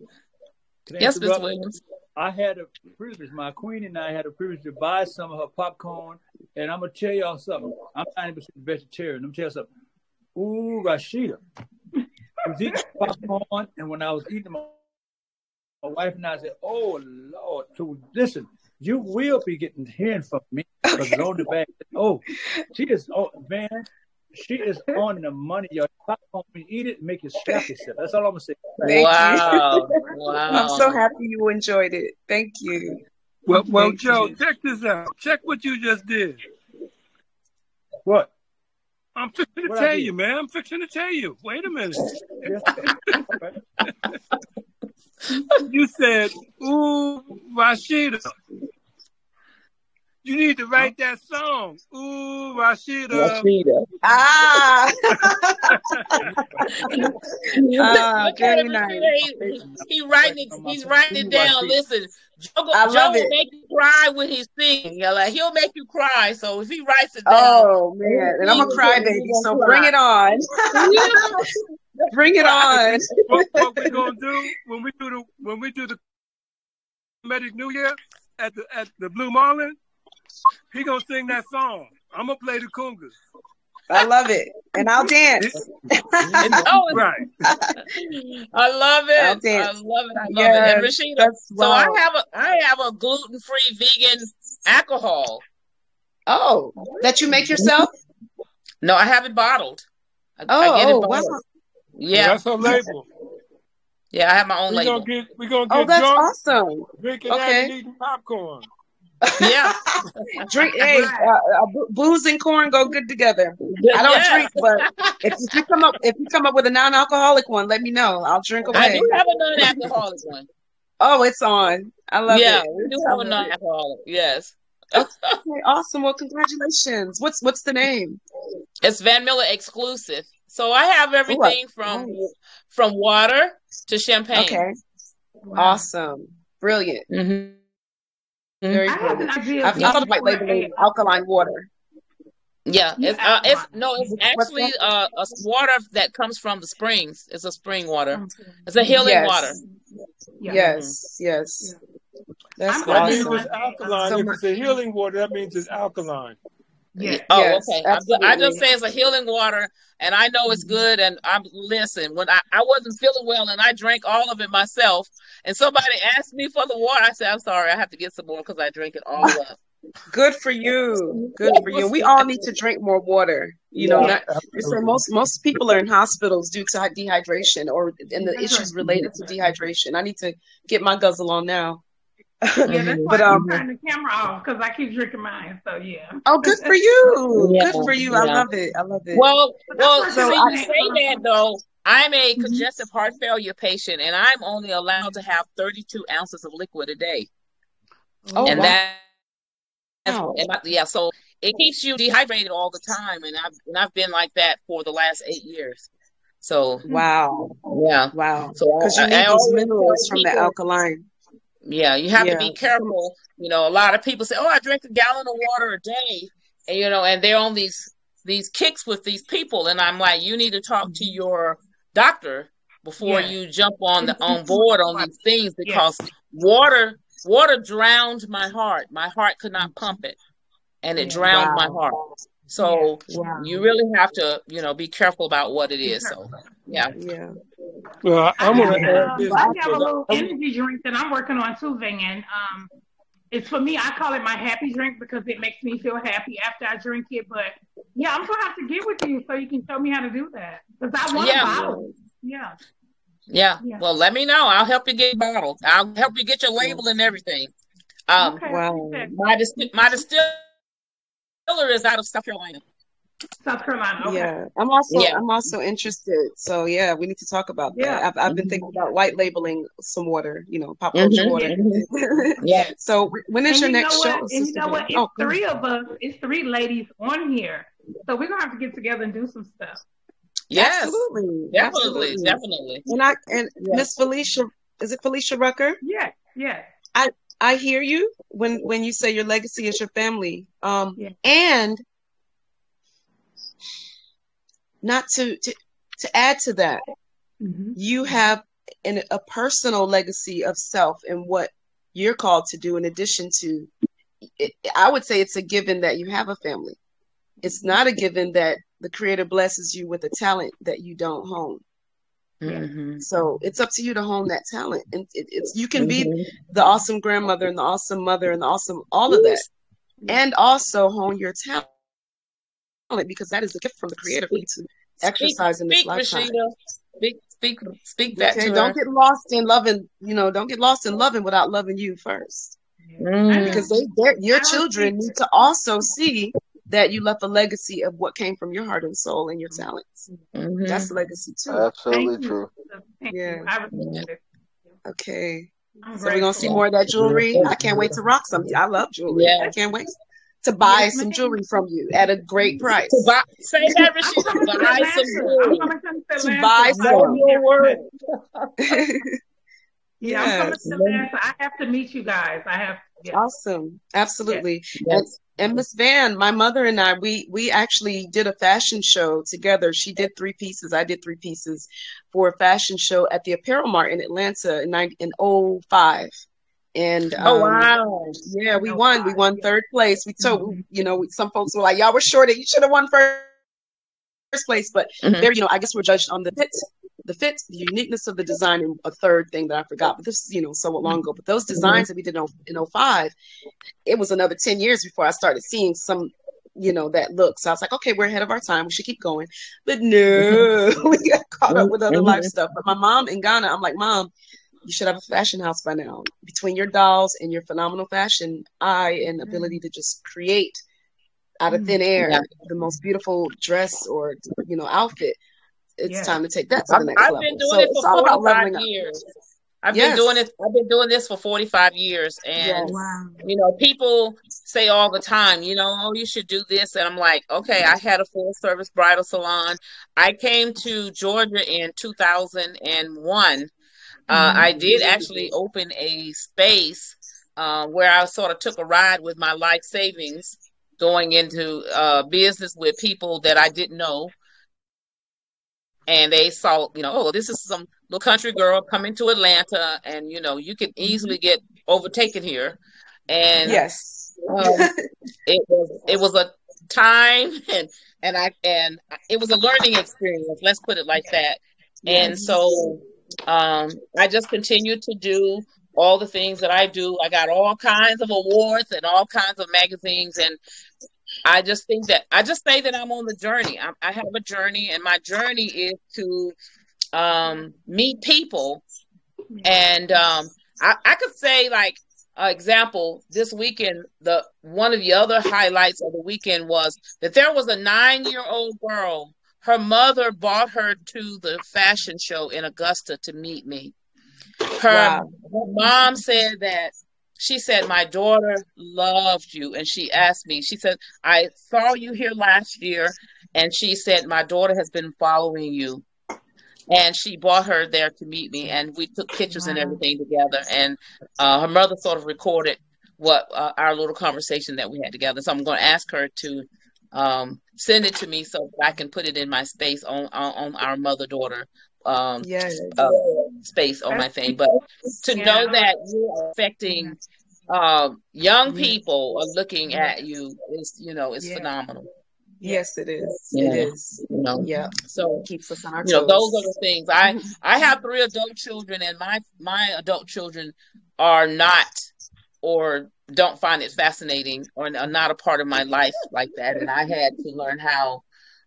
Yes, Miz Williams.
I had a privilege, my queen and I had a privilege to buy some of her popcorn. And I'm going to tell y'all something. I'm ninety percent vegetarian. I'm going to tell you something. Ooh, Rashida. I was eating popcorn, and when I was eating, my, my wife and I said, oh, Lord. So listen, you will be getting hearing from me because it's on the back. Oh, she is, oh, man. She is on the money, y'all. Popcorn, eat it, and make it slap yourself. That's all I'm gonna say.
Thank
wow,
you.
wow!
I'm so happy you enjoyed it. Thank you.
Well, well,
Thank
Joe,
you.
check this out. Check what you just did.
What?
I'm fixing to
What
tell you, man. I'm fixing to tell you. Wait a minute. You said, "Ooh, Rashida." You need to write that song. Ooh, Rashida.
Rashida.
Ah. Ah,
Look at
very
him,
nice.
Rashida. He, he, he writing it. He's writing it down. Listen, Joe,
I
Joe
love
will
it.
make you cry when he's singing. Yeah, like he'll make you cry. So if he writes it down,
Oh man, and I'm a
he- he
crybaby,
gonna
so
cry.
bring it on. Bring it on.
What, what we gonna do when we do the when we do the Medic New Year at the at the Blue Marlin? He gonna sing that song. I'm gonna play the congas.
I love it, and I'll dance.
Oh,
Right.
I love it.
I'll
I
dance.
love it. I love
Yes,
it. And Rashida,
that's
so
wow.
I have a I have a gluten free vegan alcohol.
Oh, that you make yourself?
No, I have it bottled. I,
Oh,
I get it
oh,
bottled.
wow.
Yeah,
That's her label.
yeah, I have my own
We're
label.
gonna get we're gonna
Oh,
get
that's
drunk,
awesome.
drinking that
Okay.
and eating popcorn.
Yeah,
Drink, hey, uh, uh, bo- booze and corn go good together. I don't
yes.
drink, but if, if you come up, if you come up with a non-alcoholic one, let me know. I'll drink
I
away.
do have a non-alcoholic one.
Oh, it's on. I love
Yeah,
it.
we do
I
have a
love it.
non-alcoholic. Yes,
Okay, awesome. Well, congratulations. What's what's the name?
it's Van Miller exclusive. So I have
Ooh, I-
everything from
nice.
from water to champagne.
Okay,
Wow.
awesome, brilliant,
Mm-hmm.
very
I have an
brilliant.
idea
I've
of
thought of
looking
white
for
labeling
a
alkaline water.
Yeah,
Yeah,
it's uh, it's
alkaline.
no, it's
What's
actually
that?
uh, a s- water that comes from the springs. It's a spring water.
Okay.
It's a healing water.
Yes,
Yeah.
yes, yes. That's
I'm
That means
working
awesome.
it's
on
alkaline.
So
If
much.
it's a healing water, that means it's alkaline.
Yes.
Oh,
Yes,
okay. I'm ju- I just
absolutely.
say it's a healing water, and I know it's good. And I'm listen. When I, I wasn't feeling well, and I drank all of it myself, and somebody asked me for the water, I said, "I'm sorry, I have to get some more because I drink it all up."
Good for you. Good for you. We all need to drink more water. You know,
Yeah.
not so most most people are in hospitals due to dehydration or and the
That's
issues
right.
related to dehydration. I need to get my guzzle on now.
Yeah, that's why
But
I
um,
keep turning the camera off because I keep drinking mine. So yeah.
oh, good for you.
Yeah,
Good for you. I
yeah.
love it. I love it.
Well,
But that's
well,
why I
So
see,
keep
I
you
saying,
say that
um,
though. I'm a
Mhm.
congestive heart failure patient, and I'm only allowed to have thirty-two ounces of liquid a day,
oh
and
wow.
that that's what, and I- yeah. So it keeps you dehydrated all the time, and I've and I've been like that for the last eight years. So
Wow.
yeah,
Wow.
so
Because
I,
you
I,
need
I
those
always
minerals
tell
from the
people,
alkaline.
yeah, you have to
Yeah.
be careful. You know, a lot of people say, "Oh, I drink a gallon of water a day," and you know, and they're on these these kicks with these people, and I'm like, you need to talk to your doctor before
yes.
you jump on the
It's
on
too
board on
much.
these things
Yes.
because water water drowned my heart. My heart could not pump it, and it
Yeah.
drowned my
Wow.
heart.
Yeah.
So
Wow.
you really have to, you know, be careful about what it
Be
is. So
careful.
yeah.
Yeah.
Well,
I
I'm
have
gonna
Yeah.
add
um,
this
I have a
because
little
Oh,
energy drink that I'm working on too, Van. Um, it's for me. I call it my happy drink because it makes me feel happy after I drink it. But yeah, I'm gonna have to get with you so you can show me how to do that because I want a
Yeah.
bottle. Yeah.
Yeah.
Yeah.
Well, let me know. I'll help you get bottled. I'll help you get your label and everything. Um,
Okay. I
wow.
appreciate it.
my dis- my distiller is out of South Carolina.
South Carolina. Okay.
Yeah. I'm also
Yeah.
I'm also interested. So yeah, we need to talk about that.
Yeah.
I've I've been
Mhm.
thinking about white labeling some water, you know, pop culture
Mhm.
water.
Yes.
Mhm. Yeah.
Yes.
So when is
And
your
you know
next
what?
show,
And you
Sister
know
Van?
what? It's
Oh, go ahead.
three of us. It's three ladies on here. So we're gonna have to get together and do some stuff.
Yes.
Absolutely.
Definitely.
Absolutely.
Definitely.
And I and
Yeah.
Miss Felicia, is it Felicia Rucker?
Yes. Yes.
I I hear you when when you say your legacy is your family. Um
Yeah.
and not to to to add to that,
Mm-hmm.
you have an, a personal legacy of self and what you're called to do in addition to it, I would say it's a given that you have a family. It's not a given that the creator blesses you with a talent that you don't hone.
Yeah.
Mhm.
So it's up to you to hone that talent. And it, it's you can be
Mhm.
the awesome grandmother and the awesome mother and the awesome all of that.
Yeah.
And also hone your talent because that is a gift from the creator for you
Speak,
to
speak,
exercise in this
speak,
lifetime.
Rashida. Speak, speak, speak that
Okay,
to
don't
her.
get lost in loving, you know, don't get lost in loving without loving you first.
Yeah. I
Mm.
Because
mean,
they, they're, your
I
children
respect
need to also see that you left a legacy of what came from your heart and soul and your talents.
Mhm.
That's a legacy too.
Absolutely
Thank you.
true.
Thank
Yeah.
you. I respect it.
Okay.
I'm
So we're gonna see
grateful.
more of that jewelry. I can't wait to rock some. I love jewelry.
Yeah.
I can't wait. to buy
Yes,
some
ma'am.
jewelry from you at a great
To
price.
buy, say that,
I'm
Rashida.
coming to
Buy some
Atlanta. I'm
jewelry.
coming to
To
Atlanta.
buy
Um,
Know
some.
your word.
yeah, I'm coming
Yes.
to Atlanta. I have to meet you guys. I have, yeah,
Awesome.
yeah.
Absolutely. And
Yes.
and Miss Van, my mother and I, we we actually did a fashion show together. She did three pieces. I did three pieces for a fashion show at the Apparel Mart in Atlanta in nine in oh five. And
Oh
um
wow.
yeah, we
No
won. We
five.
won
Yeah.
third place. We told
Mhm.
you know, some folks were like, y'all were short. You should have won first place, but
Mhm.
there, you know, I guess we're judged on the fit, the fit, the uniqueness of the design, and a third thing that I forgot. But this, you know, so long ago. But those
Mhm.
designs that we did in, in oh five, it was another ten years before I started seeing some, you know, that look. So I was like, okay, we're ahead of our time. We should keep going. But
Mhm.
no, we got caught up with other life
Mhm.
stuff. But my mom in Ghana, I'm like, Mom, you should have a fashion house by now. Between your dolls and your phenomenal fashion eye and ability to just create out of thin
Yeah.
air the most beautiful dress or, you know, outfit, it's
Yes.
time to take that to
I've,
the next
I've
level.
been doing
So
it
it's
for
all about
forty-five
leveling up.
years. I've been
Yes.
doing it. I've been doing this for forty-five years, and
Yes.
Wow.
you know, people say all the time, you know, oh, you should do this, and I'm like, okay, I had a full service bridal salon. I came to Georgia in two thousand one. Uh,
Mhm.
I did actually open a space uh, where I sort of took a ride with my life savings, going into uh, business with people that I didn't know. And they saw, you know, oh, this is some little country girl coming to Atlanta, and you know, you can easily get overtaken here. And
Yes.
um, it was it was a time, and and I and it was a learning experience. Let's put it like that. And
Yes.
so um, I just continued to do all the things that I do. I got all kinds of awards and all kinds of magazines, and I just think that I just say that I'm on the journey. I, I have a journey, and my journey is to um, meet people. And um, I, I could say, like, uh, example, this weekend, the one of the other highlights of the weekend was that there was a nine-year-old girl. Her mother brought her to the fashion show in Augusta to meet me. Her,
Wow.
her mom said that she said, my daughter loved you. And she asked me, she said, I saw you here last year. And she said, my daughter has been following you. And she brought her there to meet me. And we took pictures and
Wow.
everything together. And uh, her mother sort of recorded what uh, our little conversation that we had together. So I'm going to ask her to um, send it to me so that I can put it in my space on, on, on our mother-daughter um,
Yes.
uh, space on my thing. But to
Yeah.
know that you are
Yeah.
affecting um, young
Yes.
people are looking
Yeah.
at you is, you know, is
Yeah.
phenomenal.
Yeah.
Yes, it is.
You
It
know,
is.
you know.
Yeah.
So
Keeps us on our
you know, those are
toes.
the things. I I have three adult children, and my my adult children are not or don't find it fascinating or are not a part of my life like that, and I had to learn how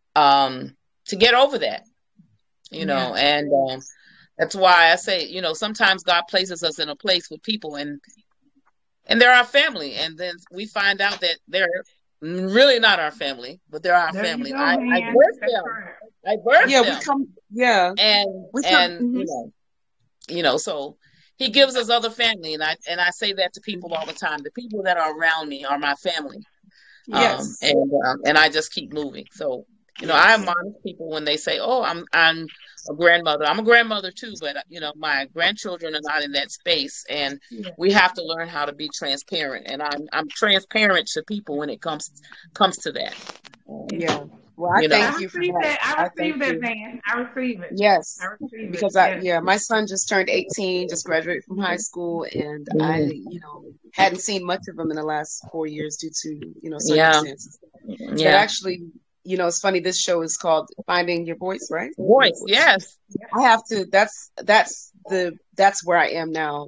um to get over that, you know.
Yeah.
And um that's why I say, you know, sometimes God places us in a place with people, and and they're our family, and then we find out that they're really not our family, but they're our
There you
family.
go,
I I
man.
birthed
That's
them.
correct.
I birthed
Yeah, we
them,
come. Yeah,
and
we come.
and
Mhm.
you know, you know, so He gives us other family, and I and I say that to people all the time. The people that are around me are my family, um,
Yes.
and um, and I just keep moving. So you know, I admonish people when they say, "Oh, I'm I'm a grandmother." I'm a grandmother too, but you know, my grandchildren are not in that space, and
Yeah.
we have to learn how to be transparent. And I'm I'm transparent to people when it comes comes to that. Um,
Yeah.
Yeah. Well, I
you know,
I
thank you for
receive
that.
that. I
I thank
receive that,
you.
man. I receive it.
Yes,
I receive it.
because I
Yes.
yeah, my son just turned eighteen, just graduated from high school, and I,
mhm.
you know, hadn't seen much of him in the last four years due to, you know,
Yeah,
circumstances. But
yeah.
actually, you know, it's funny. This show is called Finding Your Voice, right? Your
Voice,
voice.
yes.
I have to. That's that's the that's where I am now.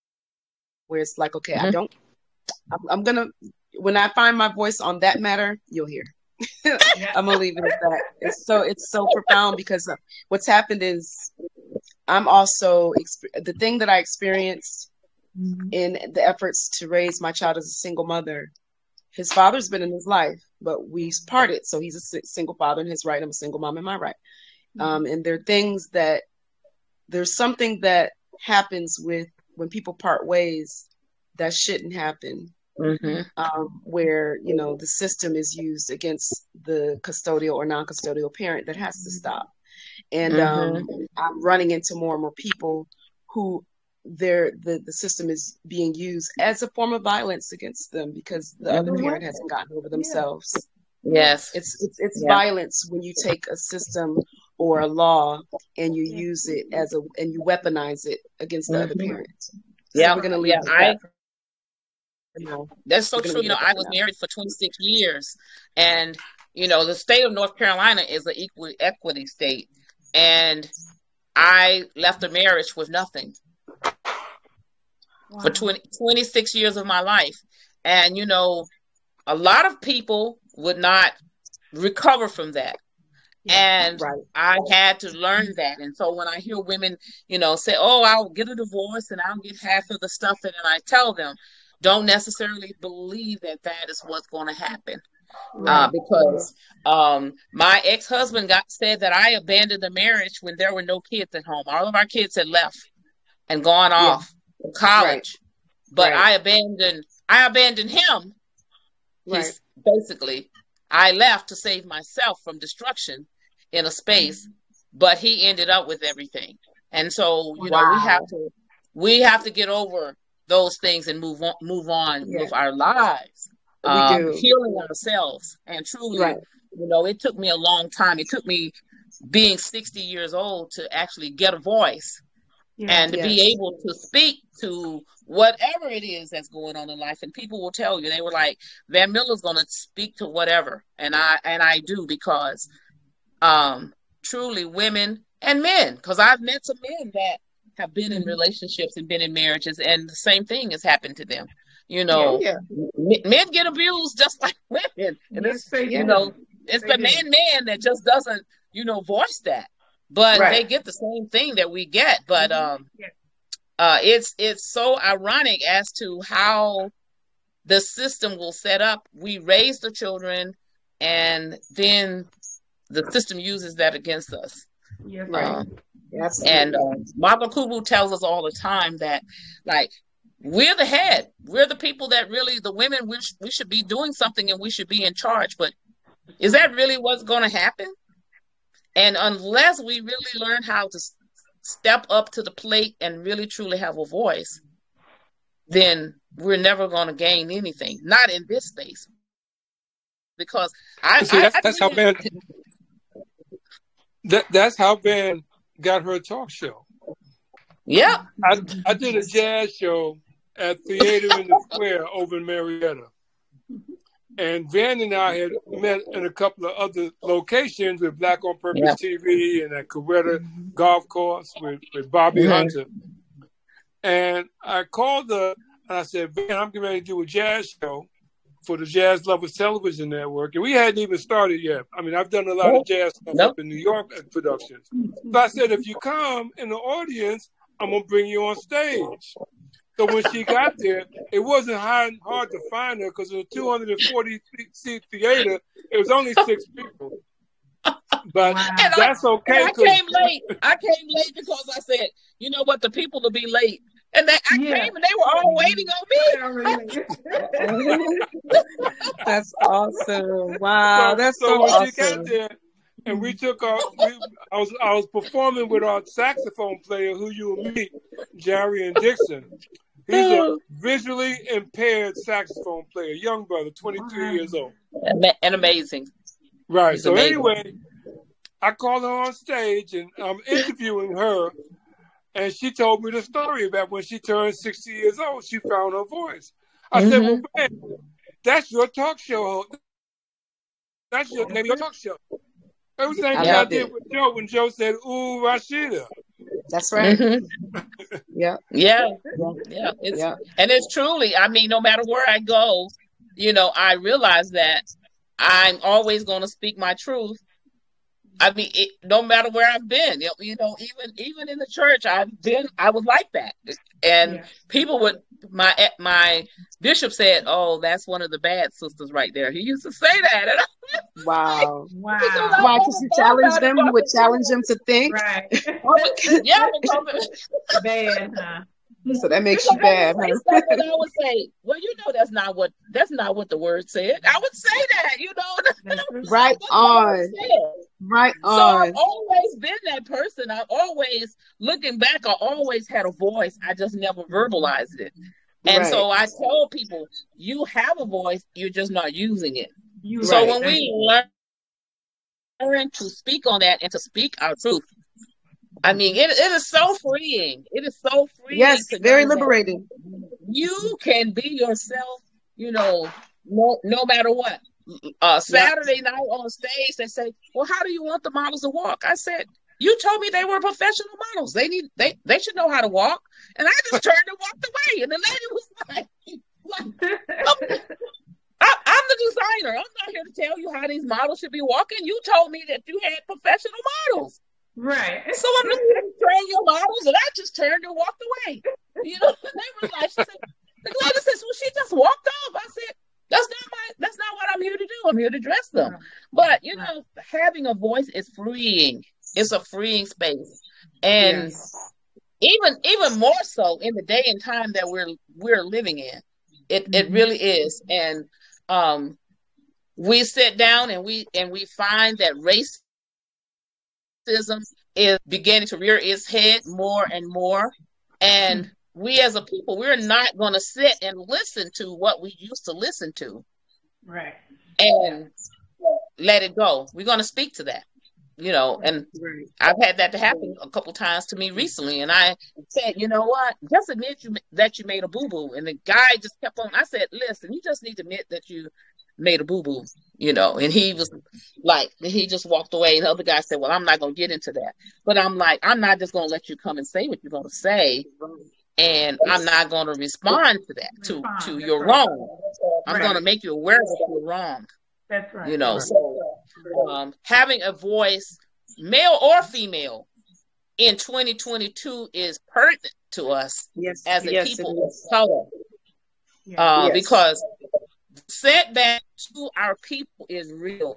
Where it's like, okay, I
Mhm.
don't. I'm, I'm gonna when I find my voice on that matter, you'll hear.
Yeah.
I'm gonna leave it at that. It's so it's so profound because uh, what's happened is I'm also exp- the thing that I experienced
Mhm.
in the efforts to raise my child as a single mother. His father's been in his life, but we parted. So he's a si- single father in his right. I'm a single mom in my right. Um, and there are things that there's something that happens with when people part ways that shouldn't happen.
Mm-hmm.
um, where you know the system is used against the custodial or non-custodial parent. That has to stop. And
Mm-hmm.
um, I'm running into more and more people who their the, the system is being used as a form of violence against them because the other
Mm-hmm.
parent hasn't gotten over themselves.
Yes.
It's it's it's
Yeah.
violence when you take a system or a law and you use it as a and you weaponize it against the other
Mhm.
parent. So
Yeah.
we're gonna leave
Yeah.
it at
I
that. You know,
That's so
we're gonna
true.
leave
You
it
know,
at
I
that
was
for now.
married for twenty-six years, and you know, the state of North Carolina is an equal equity state, and I left a marriage with nothing for
Wow.
twenty, twenty-six years of my life. And you know, a lot of people would not recover from that.
Yeah.
And
Right.
I had to learn that. And so when I hear women, you know, say, "Oh, I'll get a divorce and I'll get half of the stuff," and then I tell them, don't necessarily believe that that is what's going to happen. Uh,
Right.
because um, my ex-husband got said that I abandoned the marriage when there were no kids at home. All of our kids had left and gone
Yeah.
off to
Right.
college, but
Right.
I abandoned I abandoned him.
Right.
He's basically I left to save myself from destruction in a space, but he ended up with everything. And so, you know, we have
Wow.
to we have to get over those things and move on move on
Yeah.
with our lives,
We
um,
do.
healing ourselves. And truly,
Right.
you know, it took me a long time. It took me being sixty years old to actually get a voice
Yeah.
and to
Yes.
be able to speak to whatever it is that's going on in life. And people will tell you, they were like, Van Miller's going to speak to whatever. And I, and I do, because, um, truly women and men, because I've met some men that have been in
Mhm.
relationships and been in marriages, and the same thing has happened to them. You
Yeah.
know,
Yeah.
m- men get abused just like women. And
Yes,
it's,
they
you
Yeah.
know,
do.
it's
They
the
do.
man man that just doesn't, you know, voice that. But
Right.
they get the same thing that we get. But
Mhm.
um,
Yeah.
uh, it's it's so ironic as to how the system will set up. We raise the children, and then the system uses that against us.
Yes, they
Right.
Um,
do.
and
Absolutely.
uh, Margaret Kubu tells us all the time that, like, we're the head. We're the people that really, the women, we, sh- we should be doing something and we should be in charge. But is that really what's going to happen? And unless we really learn how to s- step up to the plate and really truly have a voice, then we're never going to gain anything. Not in this space. Because I,
See,
I,
that's
I
that's how
believe
Van that, that's how Van got her talk show.
yeah.
I I did a jazz show at Theater in the Square over in Marietta. And Van and I had met in a couple of other locations with Black on Purpose
Yeah.
T V and at Coretta Golf Course with, with Bobby
Mhm.
Hunter. And I called her and I said, Van, I'm getting ready to do a jazz show for the Jazz Lovers Television Network. And we hadn't even started yet. I mean, I've done a lot of
Nope.
jazz stuff
Nope.
up in New York at productions. But I said, if you come in the audience, I'm going to bring you on stage. So when she got there, it wasn't hard, hard to find her because in a two hundred forty seat theater, it was only six people. But
Wow.
And I,
that's
and
okay
I
because
came late. I came late because I said, you know what, the people will be late. And they, I
Yeah.
came and they were all waiting on me.
Yeah, really.
That's awesome. Wow.
so,
That's
so
so
when she got
awesome.
there and we took our, we, I was I was performing with our saxophone player who you will meet, Jerry and Dixon. He's a visually impaired saxophone player, young brother, twenty-three
Wow.
years old.
Ama- And amazing.
Right.
He's
So
amazing.
anyway, I called her on stage and I'm interviewing her, and she told me the story about when she turned sixty years old, she found her voice. I said, well,
hmm
man, that's your talk show. host. That's your name of your talk show. It was the same
I
thing I
Yeah.
love
did
it.
with Joe when Joe said, ooh, Rashida.
That's right.
hmm
Yeah.
Yeah.
Yeah.
Yeah. It's
Yeah.
and it's truly, I mean, no matter where I go, you know, I realize that I'm always going to speak my truth. I mean, it, no matter where I've been, you know, you know, even even in the church, I've been, I was like that, and
Yeah.
people would, my my bishop said, "Oh, that's one of the bad sisters right there." He used to say that, and I was like,
Wow.
because
Wow.
I
Why?
never
Because you
thought
challenge
about it,
them? You
but
would challenge them to think?
Right.
I would- yeah, because
Bad, huh?
So that makes
Because
you bad,
I would say
huh?
stuff and I would say, well, you know, that's not what that's not what the word said. I would say that, you know, that's not
Right
what the word
on.
said.
Right
So I've
on.
always been that person. I've always, looking back, I always had a voice. I just never verbalized it. And
Right.
so I tell people, you have a voice, you're just not using it.
You
So
Right.
when we learn to speak on that and to speak our truth, I mean, it, it is so freeing. It is so freeing
Yes,
to
very
know that
liberating.
you can be yourself, you know, no, no matter what. Uh,
Yep.
Saturday night on stage, they say, well, how do you want the models to walk? I said, you told me they were professional models. They need, they, they should know how to walk. And I just turned and walked away. And the lady was like, like I'm, I, I'm the designer. I'm not here to tell you how these models should be walking. You told me that you had professional models.
Right.
So I'm just here to train your models. And I just turned and walked away. You know, they were like, she said, the lady says, well, she just walked off. I said, that's not my, that's not what I'm here to do. I'm here to dress them. But, you know, having a voice is freeing. It's a freeing space. And
Yes.
even, even more so in the day and time that we're, we're living in. It, it really is. And, um, we sit down and we, and we find that racism is beginning to rear its head more and more. And we as a people, we're not going to sit and listen to what we used to listen to.
Right.
And let it go. We're going to speak to that, you know, and
Right.
I've had that to happen a couple times to me recently. And I said, you know what, just admit you that you made a boo-boo. And the guy just kept on. I said, listen, you just need to admit that you made a boo-boo, you know. And he was like, he just walked away. And the other guy said, well, I'm not going to get into that. But I'm like, I'm not just going to let you come and say what you're going to say. And I'm not going to respond to that, to,
Respond,
to
that's
you're
right.
wrong. I'm
Right.
going to make you aware that you're wrong,
That's right.
you know.
Right.
So um, having a voice, male or female, in twenty twenty-two is pertinent to us
Yes.
as a
Yes,
people
it
of
is.
color.
Yeah.
Uh,
Yes.
Because setback to our people is real.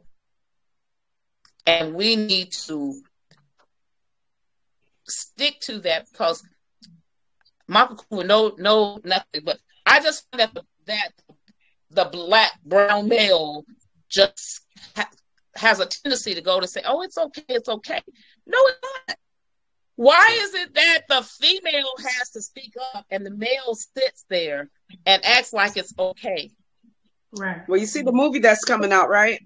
And we need to stick to that, because Michael would know, know nothing, but I just find that the, that the black, brown male just ha- has a tendency to go to say, oh, it's okay, it's okay. No, it's not. Why is it that the female has to speak up and the male sits there and acts like it's okay?
Right.
Well, you see the movie that's coming out, right?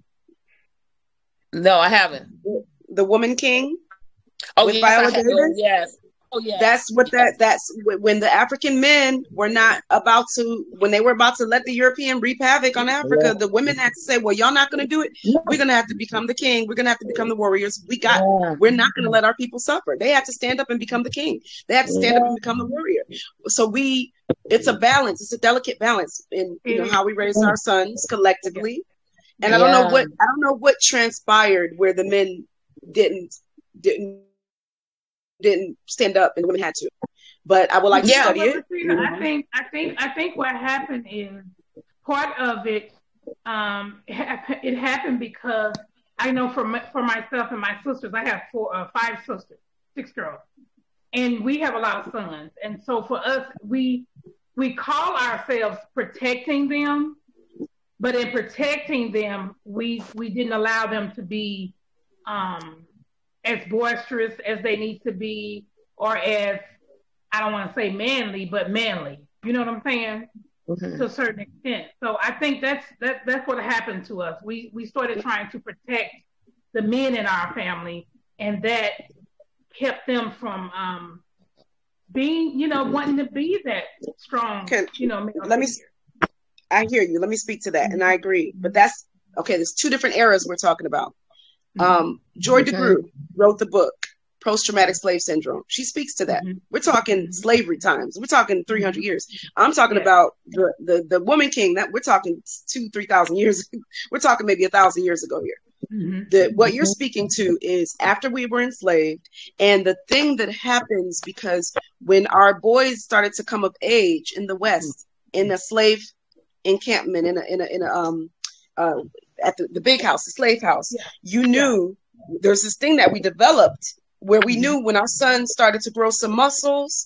No, I haven't.
The Woman King
Oh,
with
yes,
Viola
I have.
Davis.
Oh, yes. Oh, yes.
That's what that that's wh- when the African men were not about to when they were about to let the European reap havoc on Africa, the women had to say, well, y'all not going to do it. We're going to have to become the king. We're going to have to become the warriors. We got
Yeah.
we're not going to let our people suffer. They had to stand up and become the king. They had to stand up and become the warrior. So we it's a balance. It's a delicate balance in you know how we raise our sons collectively. And I don't know
Yeah.
what I don't know what transpired where the men didn't didn't didn't stand up and the women had to. But I would like to
Yeah.
study
Well,
it.
Rashida,
you know.
I think I think I think what happened is part of it. Um, it hap- it happened because I know for my, for myself and my sisters, I have four, uh, five sisters, six girls, and we have a lot of sons. And so for us, we we call ourselves protecting them, but in protecting them, we we didn't allow them to be um, as boisterous as they need to be, or as, I don't want to say manly, but manly. You know what I'm saying?
Mhm.
To a certain extent. So I think that's that that's what happened to us. We we started trying to protect the men in our family, and that kept them from um, being, you know, wanting to be that strong,
Can-
you know. male
let me-
figure.
I hear you. Let me speak to that. And I agree. But that's okay. There's two different eras we're talking about. Um, Joy
Okay.
DeGruy wrote the book, Post-Traumatic Slave Syndrome. She speaks to that.
Mhm.
We're talking slavery times. We're talking three hundred years. I'm talking
Yeah.
about the, the, the Woman King. That we're talking two, three thousand years. We're talking maybe a thousand years ago here.
Mhm.
The, what you're speaking to is after we were enslaved, and the thing that happens because when our boys started to come of age in the West, in a slave encampment, in a in a, in a um uh at the, the big house, the slave house,
Yeah.
you knew there's this thing that we developed where we knew when our sons started to grow some muscles,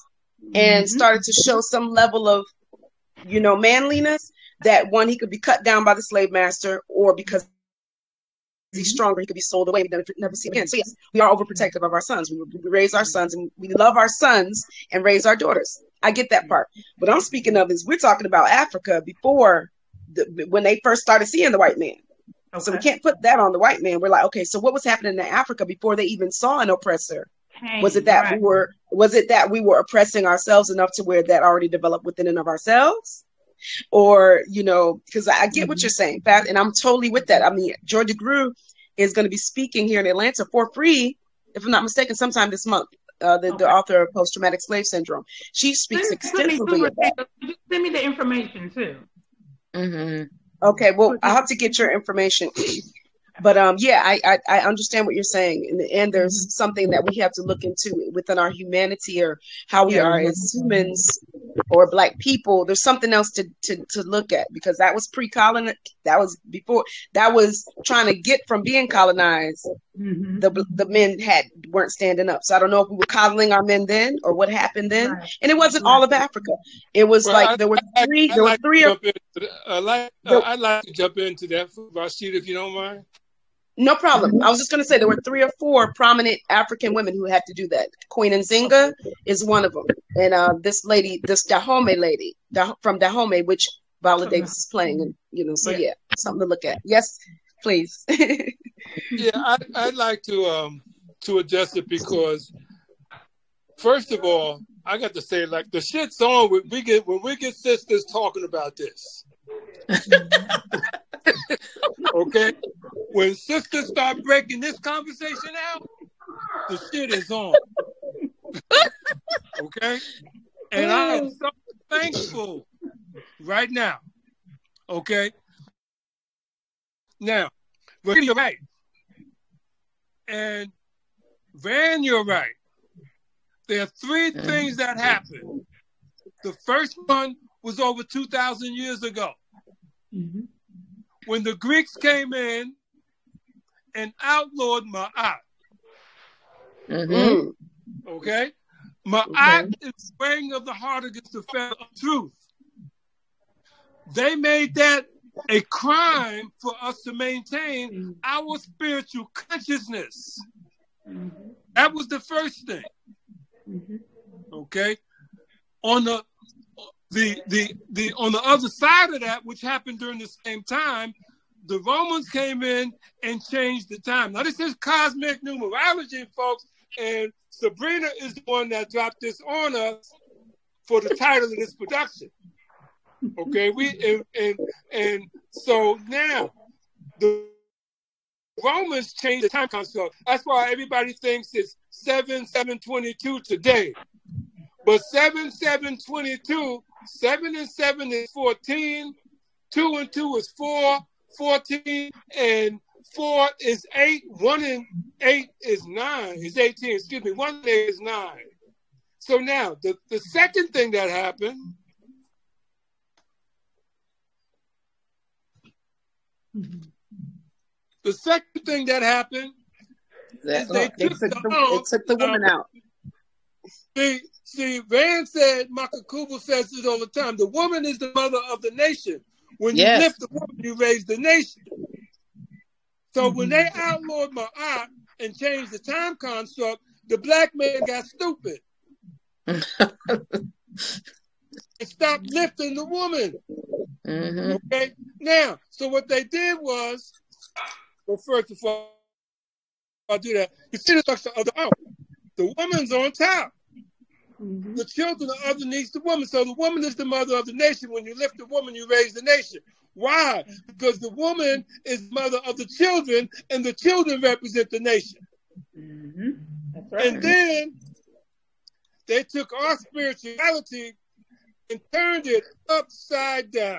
and
Mhm.
started to show some level of, you know, manliness, that one, he could be cut down by the slave master, or because he's stronger, he could be sold away. We never, never see him again. So yes, we are overprotective of our sons. We, we raise our sons, and we love our sons and raise our daughters. I get that part. What I'm speaking of is we're talking about Africa before the, when they first started seeing the white man. So we
Okay.
can't put that on the white man. We're like, okay, so what was happening in Africa before they even saw an oppressor? Was it that
Right.
we were was it that we were oppressing ourselves enough to where that already developed within and of ourselves? Or, you know, because I get what you're saying, Pat, and I'm totally with that. I mean, Georgia Grew is going to be speaking here in Atlanta for free, if I'm not mistaken, sometime this month. Uh, the, the
Okay.
author of Post-Traumatic Slave Syndrome. She speaks
Send, send me
extensively
too,
of that.
Rashida. Send me the information too.
Mm-hmm.
Okay, well, I'll have to get your information. But um, yeah, I, I I understand what you're saying. In the end, there's something that we have to look into within our humanity, or how we
Yeah.
are as humans or Black people. There's something else to to to look at, because that was pre-colon. That was before. That was trying to get from being colonized.
Mhm.
The the men had weren't standing up. So I don't know if we were coddling our men then, or what happened then.
Right.
And it wasn't
Right.
all of Africa. It was
Well,
like
I,
there were
I,
three.
I
There were
like
three
to
or
jump into that. I like
there,
uh, I'd like to jump into that, Rashida, if you don't mind.
no problem. I was just going to say there were three or four prominent African women who had to do that. Queen Nzinga is one of them, and uh, this lady, this Dahomey lady Dah- from Dahomey, which Viola Davis is playing, and you know, so
Yeah.
yeah, something to look at. Yes, please.
Yeah, I, I'd like to um to address it because, first of all, I got to say, like, the shit's on when we get when we get sisters talking about this. Okay, when sisters start breaking this conversation out, the shit is on. Okay, and I am so thankful right now. Okay, now, Rashida, you're right, and Van, you're right. There are three things that happened. The first one was over two thousand years ago,
Mhm.
when the Greeks came in and outlawed Ma'at.
Mm-hmm.
Mm,
Okay? Ma'at is the weighing of the heart against the feather of truth. They made that a crime for us to maintain our spiritual consciousness.
Mhm.
That was the first thing.
Mhm.
Okay? On the the the the on the other side of that, which happened during the same time, the Romans came in and changed the time. Now, this is cosmic numerology, folks, and Sabrina is the one that dropped this on us for the title of this production. Okay, we and and, and so now the Romans changed the time construct. That's why everybody thinks it's seven seven twenty-two today. But seven seven twenty-two, seven and seven is fourteen, two and two is four, fourteen, and four is eight, one and eight is nine, is eighteen, excuse me, one and eight is nine. So now, the, the second thing that happened, the second thing that happened is they
they
took
took
the
the they
arm
took the woman out.
See, see, Van said, Makakubu says this all the time, the woman is the mother of the nation. When
Yes.
you lift the woman, you raise the nation. So when they outlawed Ma'at and changed the time construct, the black man got stupid. And stopped lifting the woman.
Mm-hmm.
Okay? Now, so what they did was, well, first of all, I'll do that. You see the structure of the arm. The woman's on top.
Mhm.
The children are underneath the woman. So the woman is the mother of the nation. When you lift the woman, you raise the nation. Why? Because the woman is mother of the children, and the children represent the nation.
Mhm. That's right.
And then they took our spirituality and turned it upside down.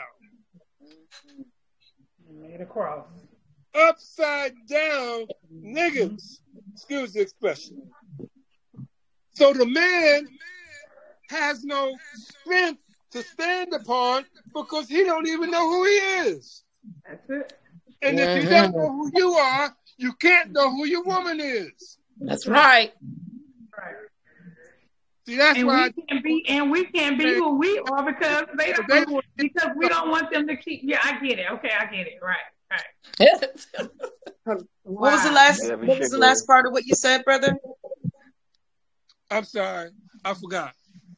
Made a cross.
Upside down niggas. Excuse the expression. So the man has no strength to stand upon because he don't even know who he is.
That's it.
And if you
Mhm.
don't know who you are, you can't know who your woman is.
That's right.
Right.
See, that's
and
why
we can't be and we can't be who we are because they don't
they want-
because we don't want them to keep. Yeah, I get it. Okay, I get it. Right, right.
What was the last?
Yeah, we
What was
should
the
go.
last part of what you said, brother?
I'm sorry, I forgot.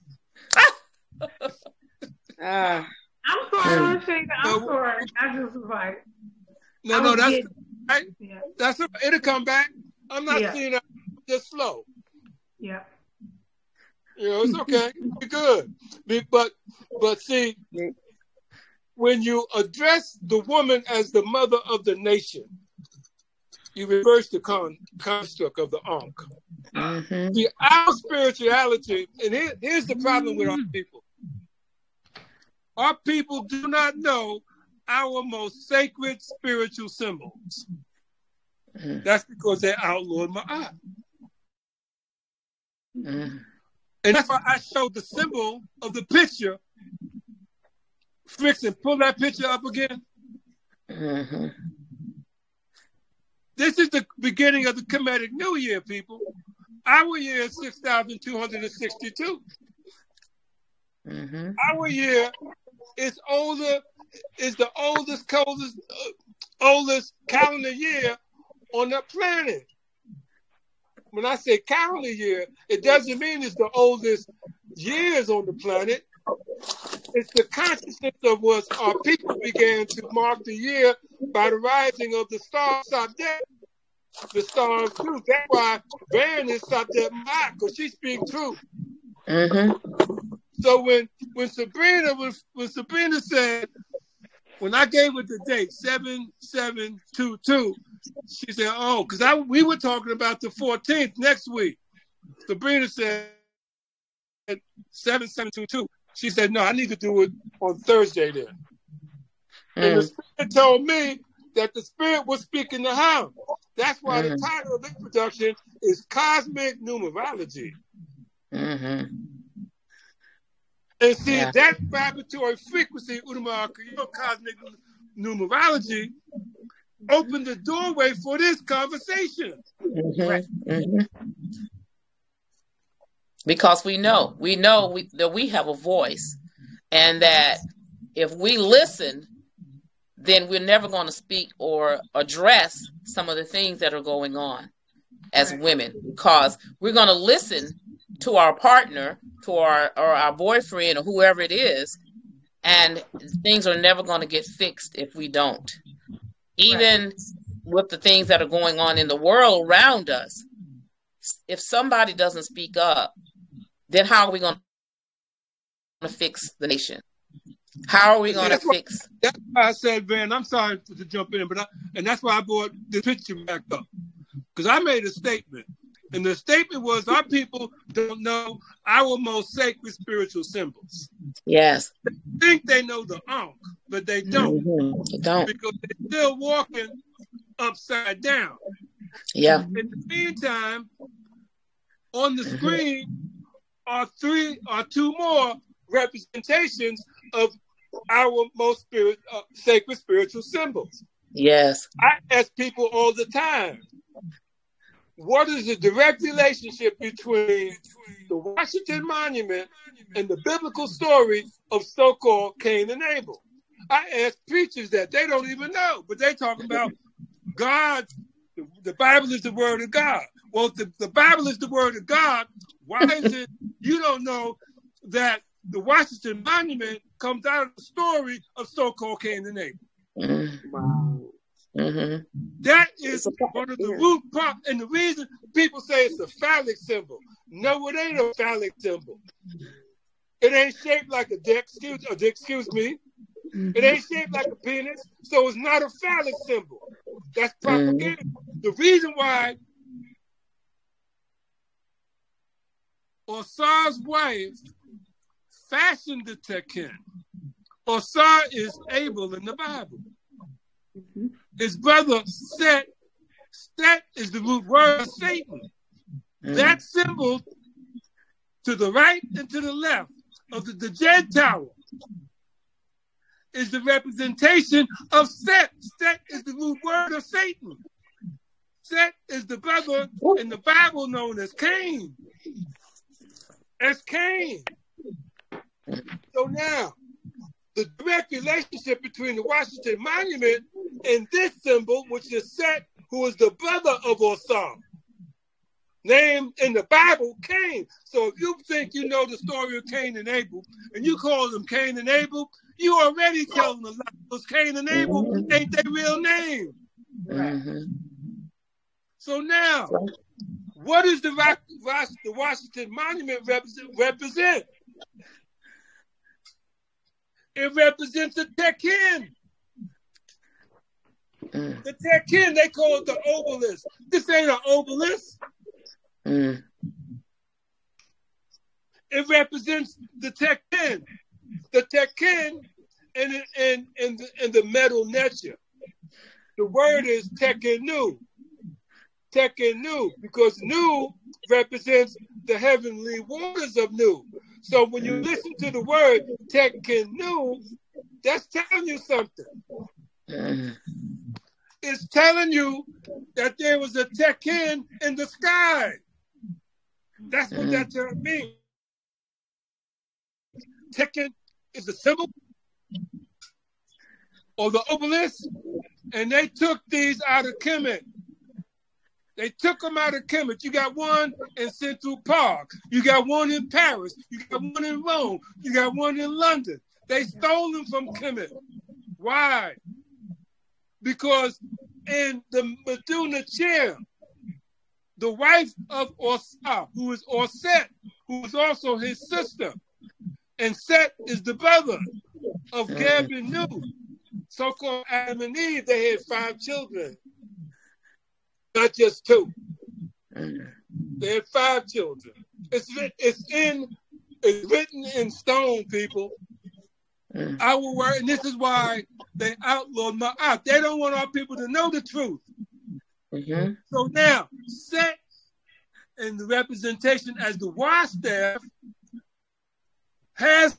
Ah,
I'm sorry, Rashida. I'm
No.
sorry. I just was like,
No,
I
no,
was
that's
getting-
right.
yeah,
That's it. It'll come back. I'm not
Yeah.
seeing it just slow.
yeah,
You know, it's okay. You're good. Be- But but see, when you address the woman as the mother of the nation, you reverse the con- construct of the Ankh.
Mm-hmm.
See, our spirituality, and here, here's the problem with our people. Our people do not know our most sacred spiritual symbols.
Mm-hmm.
That's because they outlawed Ma'at.
Mm-hmm.
And that's why I showed the symbol of the picture. Frickson, pull that picture up again.
Mm-hmm.
This is the beginning of the Kemetic New Year, people. Our year is six thousand two hundred sixty-two.
Mm-hmm.
Our year is older, is the oldest, coldest, uh, oldest calendar year on the planet. When I say calendar year, it doesn't mean it's the oldest years on the planet. It's the consciousness of what our people began to mark the year by the rising of the star Sadet, the star of truth. That's why Van is Sadet Ma'at, because she speaks truth.
Mm-hmm.
So when when Sabrina when, when Sabrina said, when I gave her the date seven seven two two, she said, "Oh, because I we were talking about the fourteenth next week." Sabrina said seven seven two two. She said, "No, I need to do it on Thursday then." Mm. And the Spirit told me that the Spirit was speaking to her. That's why mm. the title of this production is Cosmic Numerology.
Mm-hmm.
And see,
Yeah.
that vibratory frequency, Udama Cosmic Numerology, opened the doorway for this conversation.
Mm-hmm. Mm-hmm. Because we know, we know we, that we have a voice, and that if we listen, then we're never going to speak or address some of the things that are going on as women, because we're going to listen to our partner, to our or our boyfriend or whoever it is, and things are never going to get fixed if we don't. Even right. with the things that are going on in the world around us, if somebody doesn't speak up, then how are we going to fix the nation? How are we going to fix?
Why, that's why I said, Van, I'm sorry to jump in, but I, and that's why I brought the picture back up, because I made a statement. And the statement was, our people don't know our most sacred spiritual symbols.
Yes.
They think they know the Ankh, but they don't.
Mm-hmm. They don't.
Because they're still walking upside down.
Yeah.
In the meantime, on the mm-hmm. screen are three or two more representations of our most spirit, uh, sacred spiritual symbols.
Yes.
I ask people all the time, what is the direct relationship between the Washington Monument and the biblical story of so-called Cain and Abel? I ask preachers that. They don't even know, but they talk about God. The, the Bible is the word of God. Well, if the, the Bible is the word of God, why is it you don't know that the Washington Monument comes out of the story of so-called Cain and Abel?
Mm-hmm.
Wow.
Mm-hmm.
That is one of the root parts, and the reason people say it's a phallic symbol. No, it ain't a phallic symbol. It ain't shaped like a dick, excuse, or dick, excuse me. It ain't shaped like a penis, so it's not a phallic symbol. That's propaganda. Mm-hmm. The reason why Osar's wife fashioned the tekken. Osar is Abel in the Bible. Mm-hmm. His brother Set, Set is the root word of Satan. Mm. That symbol to the right and to the left of the, the Jed Tower is the representation of Set. Set is the root word of Satan. Set is the brother in the Bible known as Cain. as Cain. So now, the direct relationship between the Washington Monument and this symbol, which is Set, who is the brother of Osam, named in the Bible Cain. So if you think you know the story of Cain and Abel, and you call them Cain and Abel, you already telling a lie. Because Cain and Abel ain't their real name.
Mm-hmm.
So now, what does the, the Washington Monument represent? represent? It represents the Tekken.
Mm.
The Tekken, they call it the obelisk. This ain't an obelisk.
Mm.
It represents the Tekken. The Tekken and, and, and, the, and the metal nature. The word is Tekkenu. Tekkenu, because Nu represents the heavenly waters of Nu. So when you listen to the word Tekkenu, that's telling you something.
Mm.
It's telling you that there was a Tekken in the sky. That's what
Mm.
that term means. Tekken is the symbol or the obelisk, and they took these out of Kemet. They took them out of Kemet. You got one in Central Park. You got one in Paris. You got one in Rome. You got one in London. They stole them from Kemet. Why? Because in the Meduna chair, the wife of Osah, who is Orset, who is also his sister, and Set is the brother of Geb and Nu, so-called Adam and Eve, they had five children. Not just two. They had five children. It's it's in it's written in stone, people. I will work, and this is why they outlawed Ma'at. They don't want our people to know the truth.
Mm-hmm.
So now, Set in the representation as the wash staff has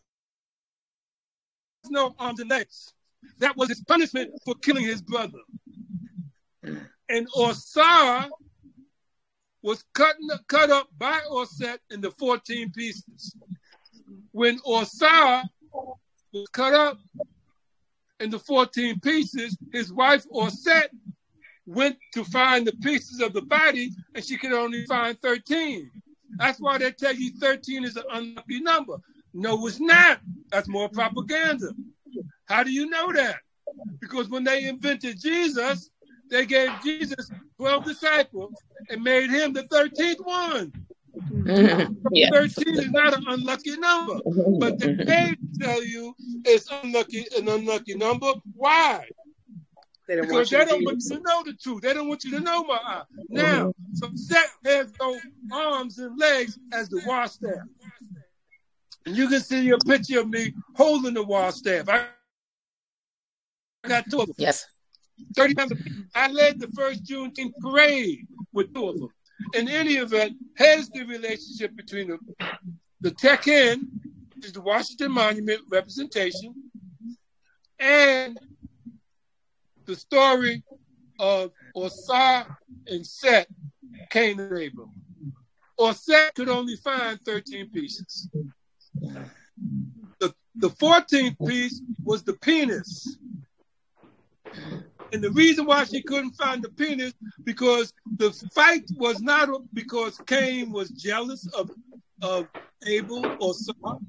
no arms and legs. That was his punishment for killing his brother. And Osar was cut, cut up by Orset into fourteen pieces. When Osar was cut up into fourteen pieces, his wife Orset went to find the pieces of the body, and she could only find thirteen. That's why they tell you thirteen is an unlucky number. No, it's not. That's more propaganda. How do you know that? Because when they invented Jesus, they gave Jesus twelve disciples and made him the thirteenth one.
Mm-hmm. Yeah.
thirteen is not an unlucky number, but they mm-hmm. tell you it's unlucky, an unlucky number. Why?
They don't
because
want you
they
to
don't
be
want you to know the truth. They don't want you to know my eye. Now, mm-hmm. so Set has no arms and legs as the wash staff. And you can see a picture of me holding the wash staff. I got two of them.
Yes.
thirty times. I led the first Juneteenth parade with two of them. In any event, here's the relationship between the, the Tekken, which is the Washington Monument representation, and the story of Osar and Set, Cain and Abel. Orset could only find thirteen pieces. The, the fourteenth piece was the penis. And the reason why she couldn't find the penis, because the fight was not because Cain was jealous of, of Abel or Osar.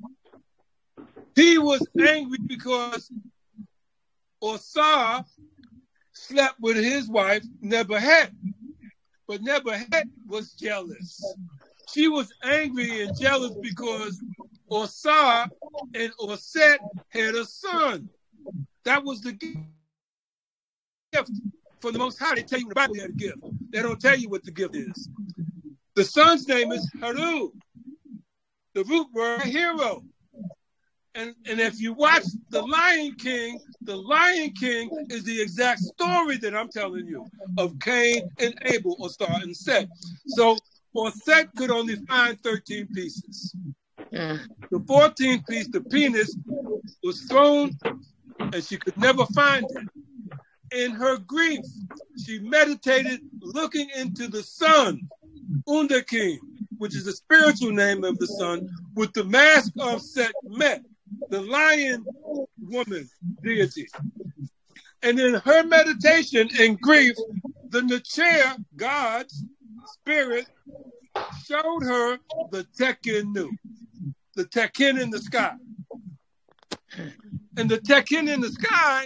He was angry because Osar slept with his wife, Nebahet. But Nebahet was jealous. She was angry and jealous because Osar and Orset had a son. That was the gift. For the Most High, they tell you in the Bible you had a gift. They don't tell you what the gift is. The son's name is Haru. The root word, hero. And, and if you watch The Lion King, The Lion King is the exact story that I'm telling you of Cain and Abel, or Star and Set. So Orset could only find thirteen pieces.
Mm.
The fourteenth piece, the penis, was thrown and she could never find it. In her grief, she meditated looking into the sun, Undakin, which is the spiritual name of the sun, with the mask of Sekhmet, the lion woman deity. And in her meditation and grief, the Nechair, God's spirit, showed her the Tekenu, the Tekin in the sky. And the Tekin in the sky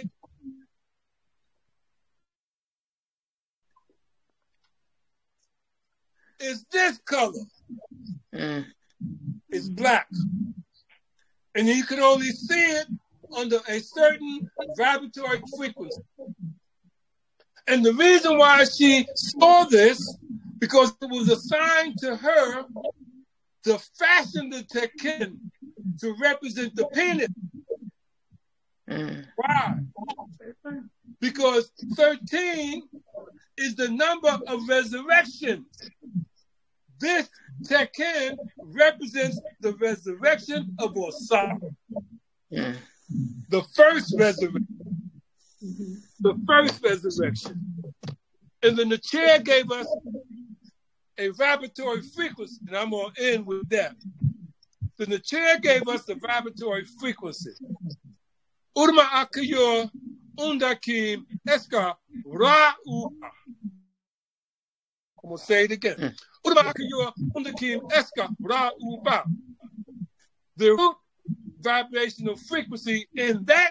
is this color.
Mm.
It's black. And you can only see it under a certain vibratory frequency. And the reason why she saw this, because it was assigned to her to fashion the Tekin to represent the penis.
Mm.
Why? Because thirteen is the number of resurrection. This Tekin represents the resurrection of Osiris.
Mm.
The first resurrection. The first resurrection. And the Nechair gave us a vibratory frequency, and I'm going to end with that. The Nechair gave us the vibratory frequency. Urma akayor undakim eska ra'u. I'm going to say it again. Urma akayor undakim eska ra'u ba. The root vibrational frequency in that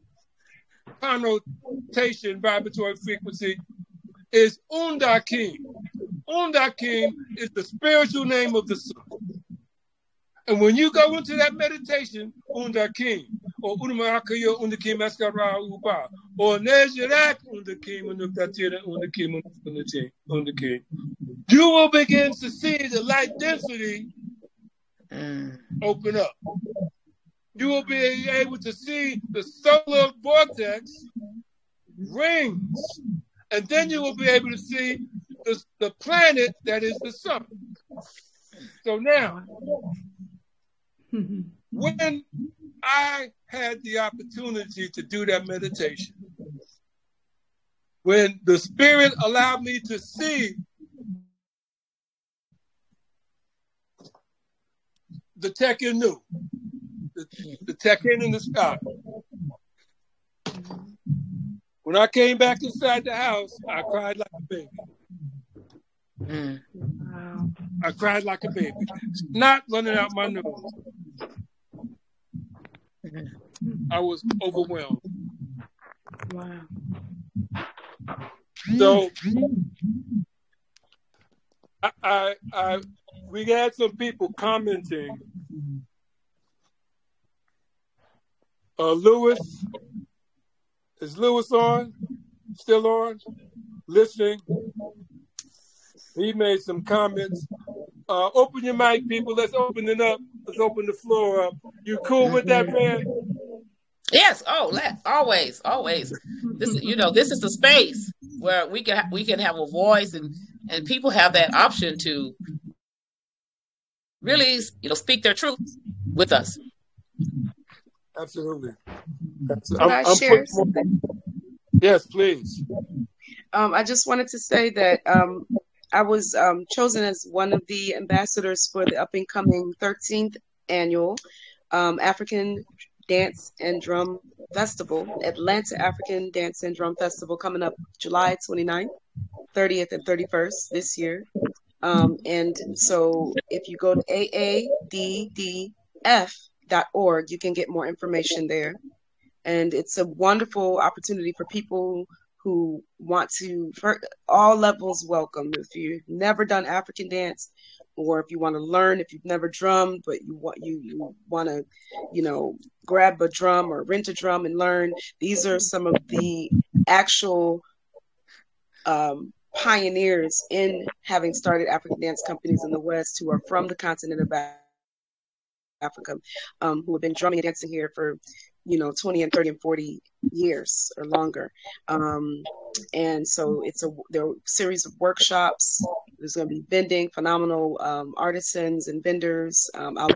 connotation, vibratory frequency, is Undakim. Undakim is the spiritual name of the sun. And when you go into that meditation, Undakim, or Unamakayo Undakim Askara Uba, or Nejirak Undakim Unukatira Undakim Undakim, you will begin to see the light density
Mm.
open up. You will be able to see the solar vortex rings, and then you will be able to see the, the planet that is the sun. So now, when I had the opportunity to do that meditation, when the Spirit allowed me to see the Tekenu, the, the Tekin in the sky. When I came back inside the house, I cried like a baby.
Mm.
Wow.
I cried like a baby. Not running out my nose. I was overwhelmed.
Wow.
So I, I, I we had some people commenting. Uh, Lewis, is Lewis on? Still on? Listening? He made some comments. Uh, open your mic, people. Let's open it up. Let's open the floor up. You cool with that, man?
Yes. Oh, let, always, always. This, you know, this is the space where we can we can have a voice, and and people have that option to really, you know, speak their truth with us.
Absolutely.
Can I
I'm
share
putting more-
something?
Yes, please.
Um, I just wanted to say that um, I was um, chosen as one of the ambassadors for the up and coming thirteenth annual um, African Dance and Drum Festival, Atlanta African Dance and Drum Festival, coming up July twenty-ninth, thirtieth, and thirty-first this year. Um, and so if you go to A A D D F dot org, you can get more information there. And it's a wonderful opportunity for people who want to, for all levels, welcome. If you've never done African dance, or if you want to learn, if you've never drummed, but you want you, you want to, you know, grab a drum or rent a drum and learn, these are some of the actual um, pioneers in having started African dance companies in the West, who are from the continent of Africa, um, who have been drumming and dancing here for, you know, twenty and thirty and forty years or longer. Um, and so it's a, there are a series of workshops. There's going to be vending, phenomenal um, artisans and vendors. Um, I'll be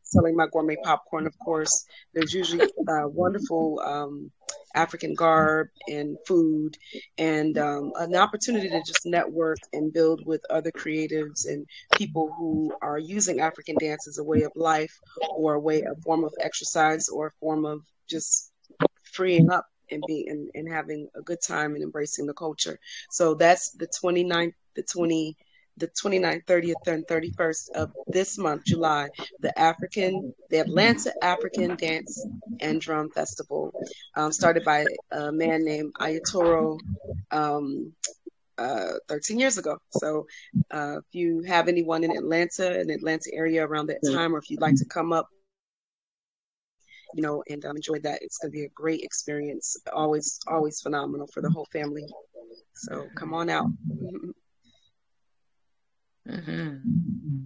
selling my gourmet popcorn, of course. There's usually uh, wonderful um, African garb and food, and um, an opportunity to just network and build with other creatives and people who are using African dance as a way of life, or a way, a form of exercise, or a form of just freeing up and being and, and having a good time and embracing the culture. So that's the twenty-ninth, the twenty, the twenty-ninth, thirtieth, and thirty-first of this month, July, the African, the Atlanta African Dance and Drum Festival, um, started by a man named Ayatoro um, uh, thirteen years ago. So uh, if you have anyone in Atlanta, in the Atlanta area around that time, or if you'd like to come up, you know, and um, enjoy that, it's going to be a great experience. Always, always phenomenal for the whole family. So come on out.
Mm-hmm.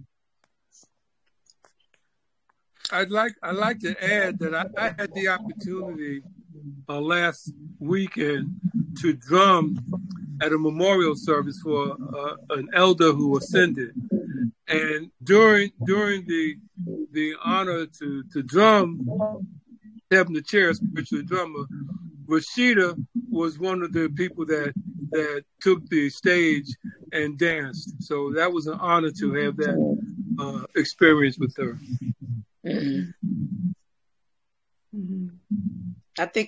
I'd like I'd like to add that I, I had the opportunity uh, last weekend to drum at a memorial service for uh, an elder who ascended, and during during the the honor to to drum, having the chair spiritual drummer, Rashida was one of the people that that took the stage and danced. So that was an honor to have that uh, experience with her.
Mm-hmm.
I think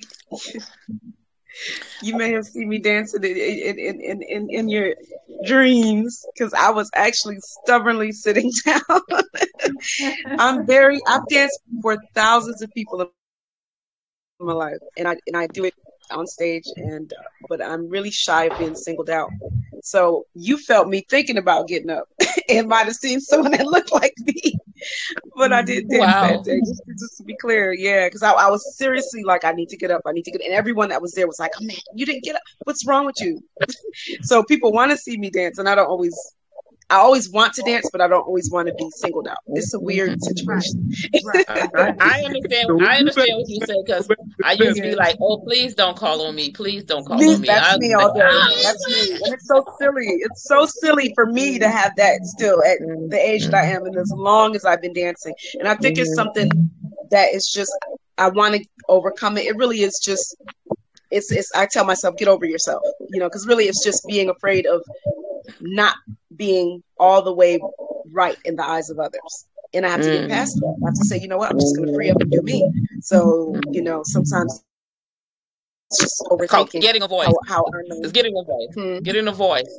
you may have seen me dancing in in in, in, in your dreams, because I was actually stubbornly sitting down. I'm very I've danced for thousands of people in my life, and I and I do it on stage, and uh, but I'm really shy of being singled out. So you felt me thinking about getting up and might have seen someone that looked like me, but I did dance
Wow.
that day. Just, just to be clear, yeah, because I, I was seriously like, I need to get up, I need to get, and everyone that was there was like, oh man, you didn't get up. What's wrong with you? So people want to see me dance, and I don't always. I always want to dance, but I don't always want to be singled out. It's a weird situation.
I, I understand. I understand what you say, because I used to be like, "Oh, please don't call on me. Please don't call
Me,
on me."
that's
I,
me all day. That's me, and it's so silly. It's so silly for me to have that still at the age that I am, and as long as I've been dancing. And I think it's something that is just I want to overcome it. It really is just. It's. It's. I tell myself, get over yourself. You know, because really, it's just being afraid of not being all the way right in the eyes of others. And I have to get past that. I have to say, you know what, I'm just going to free up and do me. So, you know, sometimes it's just overthinking.
Getting a voice.
How, how I know.
It's getting a voice.
Hmm.
Getting a voice.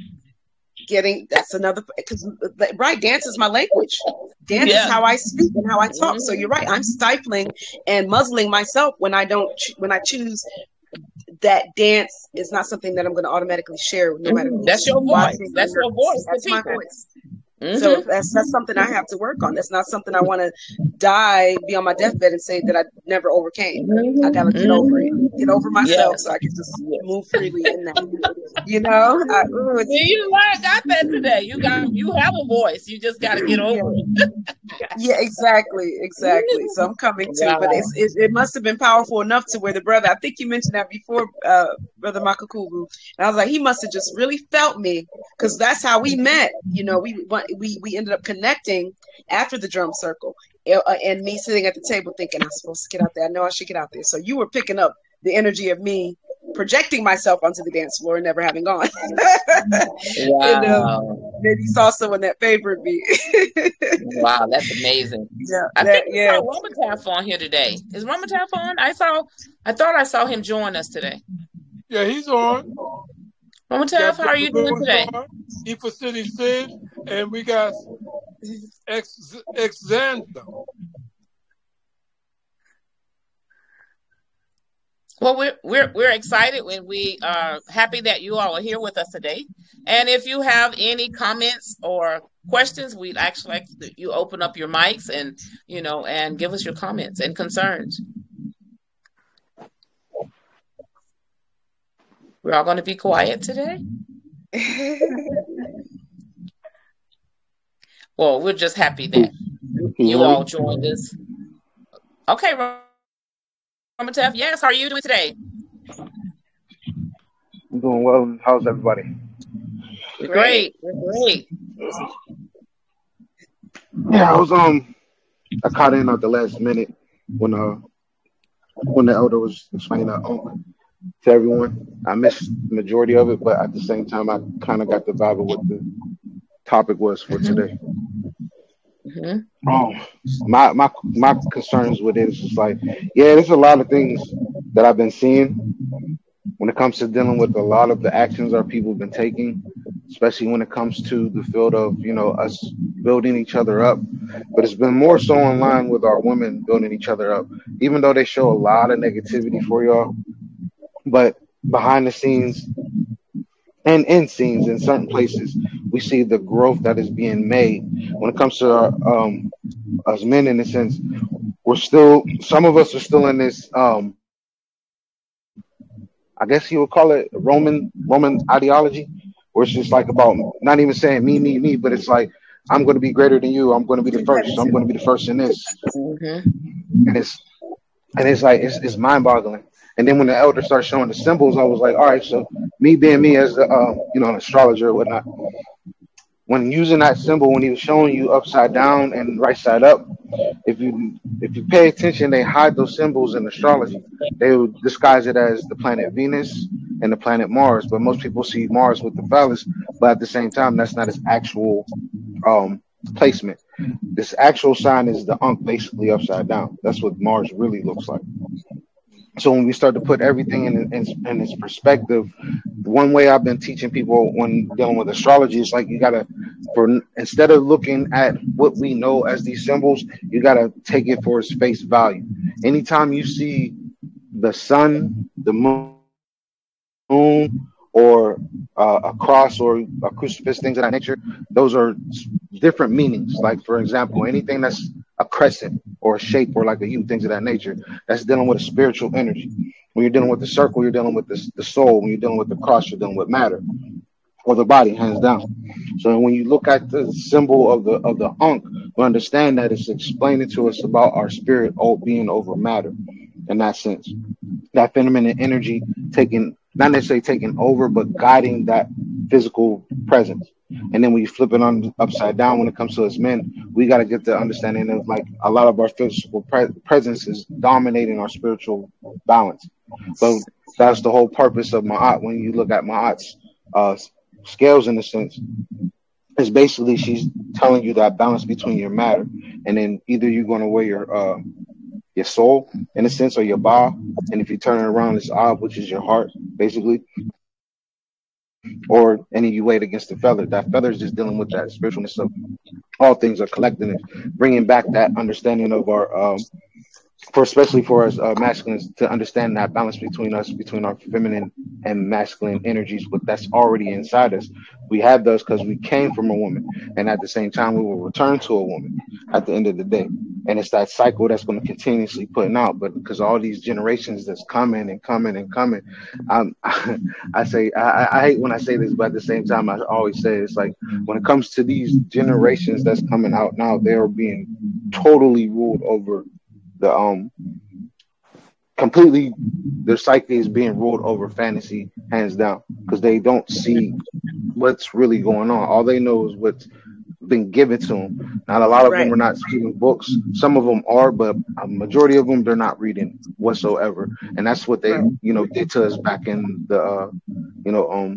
Getting, that's another, because, right, dance is my language. Dance
Yeah.
is how I speak and how I talk.
Mhm.
So you're right. I'm stifling and muzzling myself when I don't, when I choose that dance is not something that I'm going to automatically share no matter who's
That's your voice.
watching.
That's your voice.
That's
to
my
people.
voice.
Mhm.
So that's that's something I have to work on. That's not something I want to die, be on my deathbed and say that I never overcame. I gotta get over it, get over myself,
Yes.
so I can just move freely in that. You know, I, ooh, it's,
See, you learned got that today. You got you have a voice. You just got to get over it.
yeah, exactly, exactly. So I'm coming to,
Wow.
but it's, it, it must have been powerful enough to where the brother, I think you mentioned that before, uh, Brother Makakubu, and I was like, he must have just really felt me, because that's how we met. You know, we we we ended up connecting after the drum circle, uh, and me sitting at the table thinking, I'm supposed to get out there. I know I should get out there. So you were picking up the energy of me projecting myself onto the dance floor and never having gone.
Wow.
And, um, maybe you saw someone that favored me.
Wow, that's amazing.
Yeah,
I
that,
think we
yeah.
saw Romataf on here today. Is Romataf on? I saw. I thought I saw him join us today.
Yeah, he's on.
Romataf, how are you doing today?
Ifa City Sid, and we got Ex Exanta.
Well, we're we're we're excited and we are happy that you all are here with us today. And if you have any comments or questions, we'd actually like to, you open up your mics and you know and give us your comments and concerns. We're all going to be quiet today. Well, we're just happy that you all joined us. Okay, Romatef, yes, how are you doing today?
I'm doing well. How's everybody?
We're great. We're great.
Yeah, I was um I caught in at the last minute when uh when the elder was explaining the Ankh to everyone. I missed the majority of it, but at the same time, I kind of got the vibe of what the topic was for
Mm-hmm.
today.
Mm-hmm.
Um, my my my concerns with it is just like, yeah, there's a lot of things that I've been seeing when it comes to dealing with a lot of the actions our people have been taking, especially when it comes to the field of, you know, us building each other up. But it's been more so in line with our women building each other up, even though they show a lot of negativity for y'all. But behind the scenes and in scenes in certain places, we see the growth that is being made. When it comes to our, um, us men, in a sense, we're still, some of us are still in this, um, I guess you would call it Roman Roman ideology, where it's just like about not even saying me, me, me, but it's like, I'm going to be greater than you. I'm going to be the first. I'm going to be the first in this.
Mm-hmm.
And it's and it's like it's, it's mind boggling. And then when the elder started showing the symbols, I was like, all right, so me being me as the, uh, you know, an astrologer or whatnot, when using that symbol, when he was showing you upside down and right side up, if you if you pay attention, they hide those symbols in astrology. They would disguise it as the planet Venus and the planet Mars, but most people see Mars with the phallus, but at the same time, that's not its actual um, placement. This actual sign is the Ankh, basically upside down. That's what Mars really looks like. So when we start to put everything in, in, in its perspective, one way I've been teaching people when dealing with astrology is like, you gotta, for instead of looking at what we know as these symbols, you gotta take it for its face value. Anytime you see the sun, the moon, or uh, a cross or a crucifix, things of that nature, those are different meanings. Like, for example, anything that's a crescent or a shape or like a U, things of that nature, that's dealing with a spiritual energy. When you're dealing with the circle, you're dealing with the, the soul. When you're dealing with the cross, you're dealing with matter or the body, hands down. So when you look at the symbol of the of the Ankh, we understand that it's explaining to us about our spirit all being over matter in that sense. That feminine energy taking, not necessarily taking over, but guiding that physical presence. And then when you flip it on upside down, when it comes to us men, we got to get the understanding of like a lot of our physical pre- presence is dominating our spiritual balance. So that's the whole purpose of Ma'at. When you look at Ma'at's uh, scales, in a sense, is basically she's telling you that balance between your matter, and then either you're going to wear your uh, your soul, in a sense, or your ba, and if you turn it around, it's ab, which is your heart, basically. Or any you weigh it against the feather. That feather is just dealing with that spiritualness of all things are collecting it, bringing back that understanding of our, um, for especially for us uh, masculines, to understand that balance between us, between our feminine and masculine energies, but that's already inside us. We have those because we came from a woman, and at the same time, we will return to a woman at the end of the day. And it's that cycle that's going to continuously putting out. But because all these generations that's coming and coming and coming, um, I say I, I hate when I say this, but at the same time, I always say it's like when it comes to these generations that's coming out now, they're being totally ruled over. The um completely their psyche is being ruled over fantasy, hands down, because they don't see what's really going on. All they know is what's been given to them. Not a lot of
Right.
them are not reading books. Some of them are, but a majority of them they're not reading whatsoever. And that's what they,
Right.
you know, did to us back in the, uh, you know, um.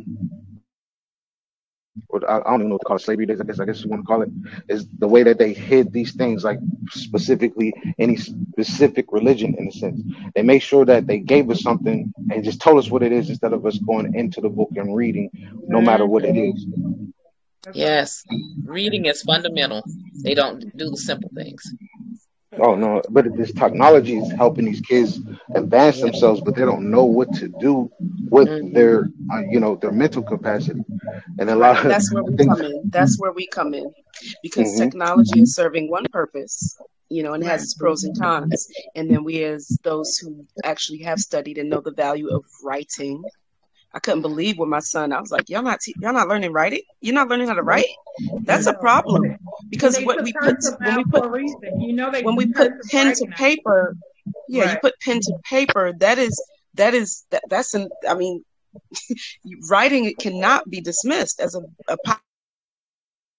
Or I I don't even know what to call it, slavery days, I guess I guess you want to call it, is the way that they hid these things, like specifically any specific religion, in a sense. They made sure that they gave us something and just told us what it is instead of us going into the book and reading, no matter what it is.
That's right.
Yes, reading is fundamental. They don't do the simple things.
Oh no, but this technology is helping these kids advance
Yeah.
themselves, but they don't know what to do with
Mhm.
their, uh, you know, their mental capacity, and a
Right.
lot of
That's where we
things.
come in. That's where we come in. Because
hmm
technology is serving one purpose, you know, and it has
Right.
its pros and cons. And then we, as those who actually have studied and know the value of writing, I couldn't believe when my son, I was like, y'all not, te- y'all not learning writing? You're not learning how to write? That's a
No.
problem.
And
Because
they
what
took
we put,
cursive
when we
out
put,
for a reason. You know they
when we
took
put
cursive
pen to
writing out.
paper, yeah, you
Right.
put pen to paper, that is, that is, that, that's an, I mean, writing it cannot be dismissed as a, a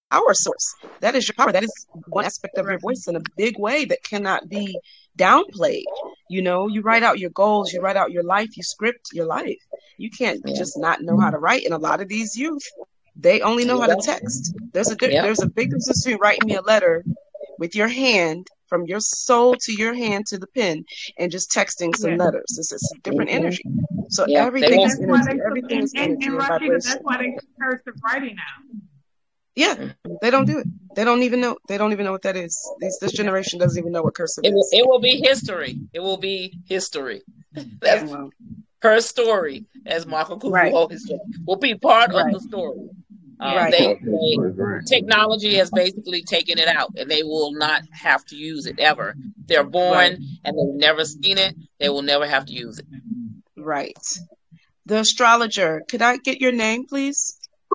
power source. That is your power. That is one aspect of your voice in a big way that cannot be downplayed. You know, you write out your goals, you write out your life, you script your life. You can't
Yeah.
just not know how to write. And a lot of these youth, they only know how to text. There's a di-
Yeah.
there's a big difference between writing me a letter with your hand, from your soul to your hand to the pen, and just texting some
Yeah.
letters. It's, it's a different
Mhm.
energy. So
Yeah, they
everything
won't.
is
That's why
energy.
they
Everything
and,
is
and,
energy
and
and
Rashida,
vibration.
that's why they cursive writing now.
Yeah, they don't do it. They don't even know. They don't even know what that is. This, this generation doesn't even know what cursive
It will,
is.
it will be history. It will be history. That's
Wow.
her story, as Michael Kubu
Right.
always said, will be part
Right.
of the story. Um,
Right.
they,
Okay,
they
story, right.
technology has basically taken it out, and they will not have to use it ever. They're born
Right.
and they've never seen it. They will never have to use it.
Right. The astrologer. Could I get your name, please?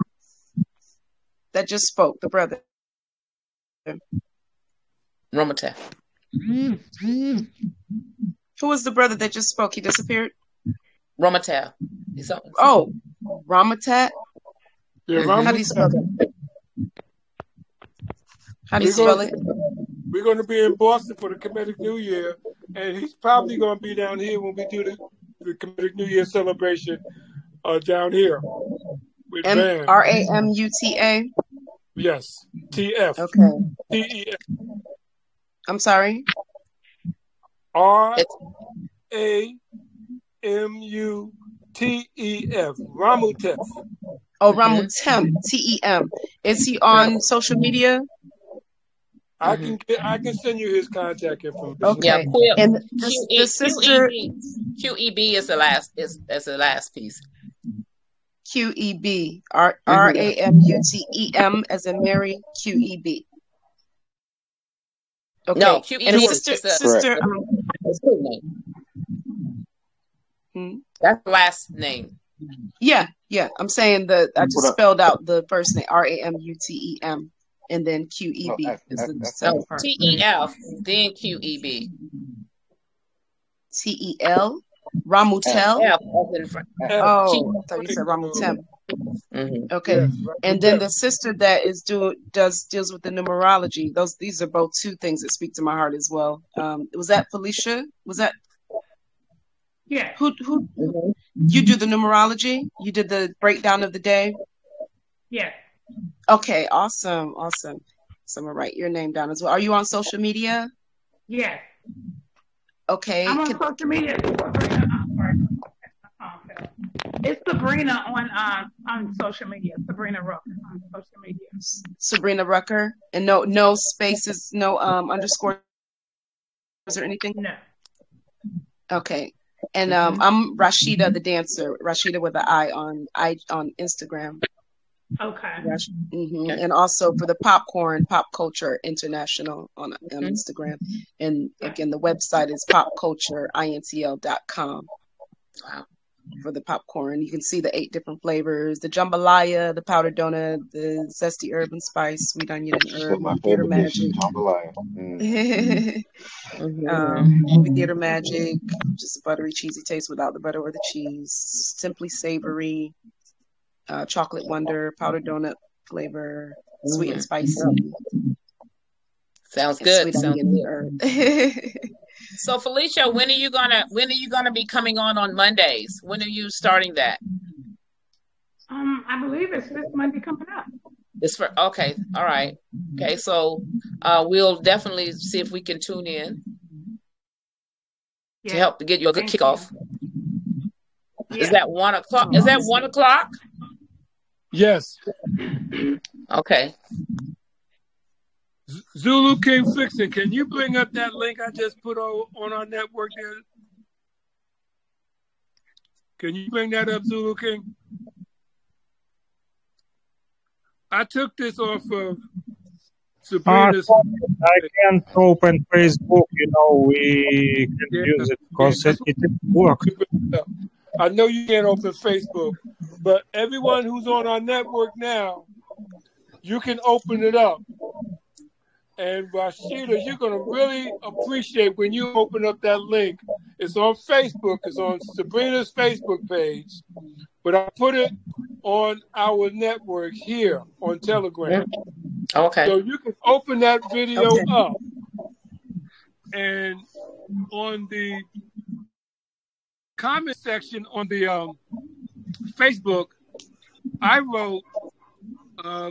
That just spoke. The brother.
Romata.
Who was the brother that just spoke? He disappeared.
Romatel. Is that-
Oh, Ramatat.
Yeah,
Mhm.
How do you spell
Ramatat.
that? How do you
We're
spell
going,
it?
we're going to be in Boston for the Kemetic New Year, and he's probably going to be down here when we do the, the Kemetic New Year celebration uh, down here with
M
Van.
R A M U T A.
Yes, T F.
Okay.
T E F.
I'm sorry.
R
It's
A M U T E F. Ramutef.
Oh,
Mhm.
Ramutem. T E M. Is he on social media?
I
Mhm.
can get, I can send you his contact information.
Yeah,
Okay.
Quill.
And the,
Q
the
E
sister
Q E B. Q E B is the last is is the last piece.
Q E B. R R A M U T E M as in Mary. Q E B. Okay.
No, Q E
And
B
the
is
sister,
is the
sister.
the-
Um,
it's his name.
hmm?
That's the last name.
Yeah, yeah. I'm saying the I just
What up?
spelled out the first name R A M U T E M, and then Q E
Oh,
B
F,
is
F,
the
F.
second
No,
part.
T E F, then Q E B.
T E L.
F.
Ramutel.
F as in front.
F.
Oh, I thought you said Ramutem.
Mhm.
Okay.
Yes,
And then the
Ramutef.
sister that is do does deals with the numerology. Those these are both two things that speak to my heart as well. Um, was that Felicia? Was that
Yeah.
who who
Mhm.
you do the numerology? You did the breakdown of the day?
Yeah.
Okay, awesome, awesome. So I'm gonna write your name down as well. Are you on social media?
Yeah.
Okay.
I'm on
Could,
social media. Sabrina, I'm sorry. Oh, okay. It's Sabrina on um on social media. Sabrina Rook on social media.
Sabrina Rucker, and no no spaces, no um underscores or anything.
No.
Okay. And um,
Mhm.
I'm Rashida the dancer. Rashida with an I on I on Instagram.
Okay.
Rash- mhm.
Okay.
And also for the popcorn, Pop Culture International on, on
Mhm.
Instagram. And again, the website is pop culture intl dot com
Wow.
for the popcorn. You can see the eight different flavors: the jambalaya, the powdered donut, the zesty herb and spice, sweet onion and
Said
herb,
my
theater
favorite dish is
magic.
jambalaya. Mm.
Mhm.
um, movie theater magic, just a buttery, cheesy taste without the butter or the cheese. Simply savory, uh, chocolate wonder, powdered donut flavor, sweet and
Mhm.
spicy,
Sounds
and
good.
sweet
Sounds
onion
good.
and herb.
So Felicia, when are you gonna when are you gonna be coming on on Mondays? When are you starting that?
Um, I believe it's this Monday coming up.
It's for okay. All right. Okay. So uh, we'll definitely see if we can tune in to
Yeah.
help to get you a good
Thank
kickoff.
Yeah.
Is that one o'clock? Is that one o'clock?
Yes.
Okay.
Z- Zulu King Fixin', can you bring up that link I just put on, on our network there? Can you bring that up, Zulu King? I took this off of
Uh,
Sabrina's.
I can't open Facebook, you know, we can
Yeah,
use it
yeah,
because
that's
it, it works.
what I know you can't open Facebook, but everyone who's on our network now, you can open it up. And Rashida, you're going to really appreciate when you open up that link. It's on Facebook. It's on Sabrina's Facebook page. But I put it on our network here on Telegram.
Okay.
So you can open that video
Okay.
up, and on the comment section on the um, Facebook, I wrote uh,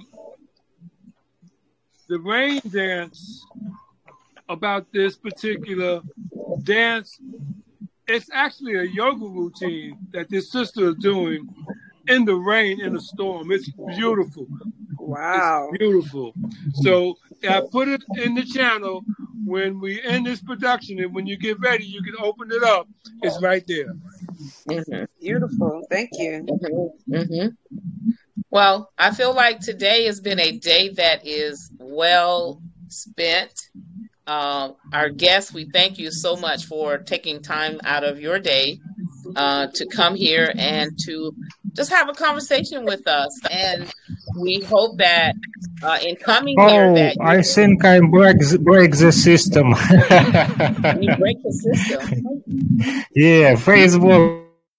the rain dance about this particular dance. It's actually a yoga routine that this sister is doing in the rain, in the storm. It's beautiful.
Wow.
It's beautiful. So I put it in the channel. When we end this production, and when you get ready, you can open it up. It's right there.
Mm-hmm.
Beautiful. Thank you.
Mm-hmm. Mm-hmm. Well, I feel like today has been a day that is well spent. Uh, our guests, we thank you so much for taking time out of your day uh, to come here and to just have a conversation with us. And we hope that uh, in coming here,
Oh,
that
I
you,
think I break the, break the system.
you break the system.
Yeah, Facebook.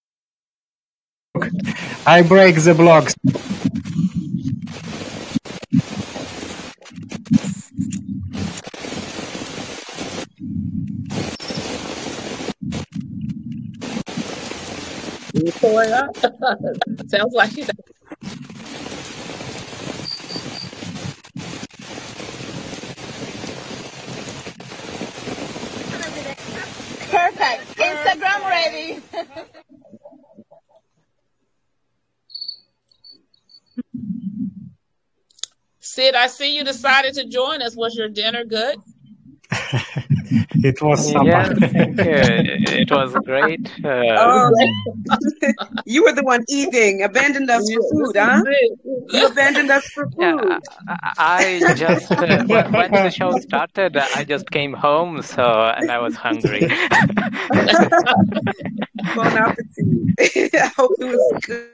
I break the blocks.
You tore it up. Sounds like you.
Perfect. Instagram ready.
Sid, I see you decided to join us. Was your dinner good?
It was supper.
Yes, thank you. It was great. Uh,
Oh, you were the one eating, abandoned us for food, huh? You abandoned us for
yeah,
food.
I I just uh, when when the show started, I just came home, so and I was hungry.
Bon appetit. I hope it was good.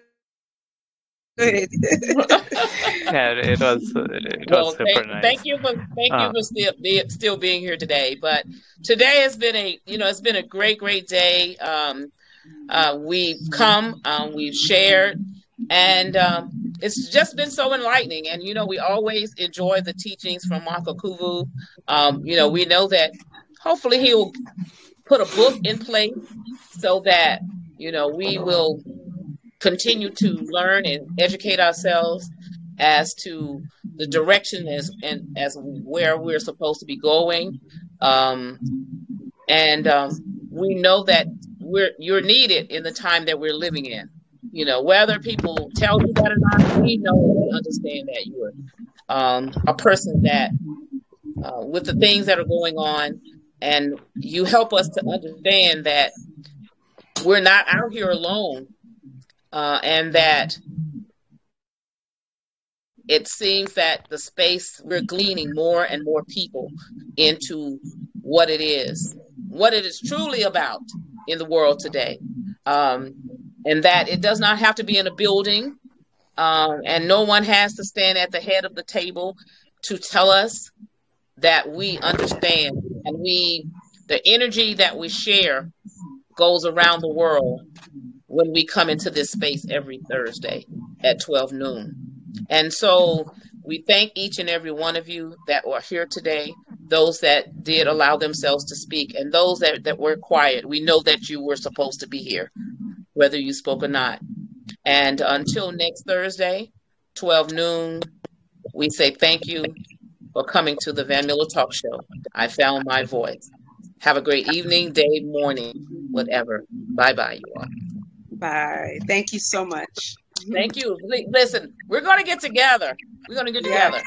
Yeah, it was it was
Well,
super
thank,
nice.
thank you for thank you
Uh,
for still be, still being here today. But today has been a you know it's been a great great day. Um, uh, we've come, um, we've shared, and um, it's just been so enlightening. And you know we always enjoy the teachings from Marco Kuvu. Um, you know we know that hopefully he will put a book in place so that you know we will continue to learn and educate ourselves as to the direction as and as where we're supposed to be going, um, and um, we know that we're you're needed in the time that we're living in. You know, whether people tell you that or not, we know and we understand that you're um, a person that, uh, with the things that are going on, and you help us to understand that we're not out here alone. Uh, and that it seems that the space we're gleaning more and more people into what it is, what it is truly about in the world today, um, and that it does not have to be in a building, um, and no one has to stand at the head of the table to tell us that we understand, and we the energy that we share goes around the world when we come into this space every Thursday at twelve noon. And so we thank each and every one of you that were here today, those that did allow themselves to speak, and those that, that were quiet. We know that you were supposed to be here, whether you spoke or not. And until next Thursday, twelve noon, we say thank you for coming to the Van Miller Talk Show. I found my voice. Have a great evening, day, morning, whatever. Bye-bye, you all.
Bye. Thank you so much.
Thank you. Li- Listen, we're going to get together. We're going to get
Yes.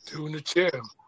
Two in the chair.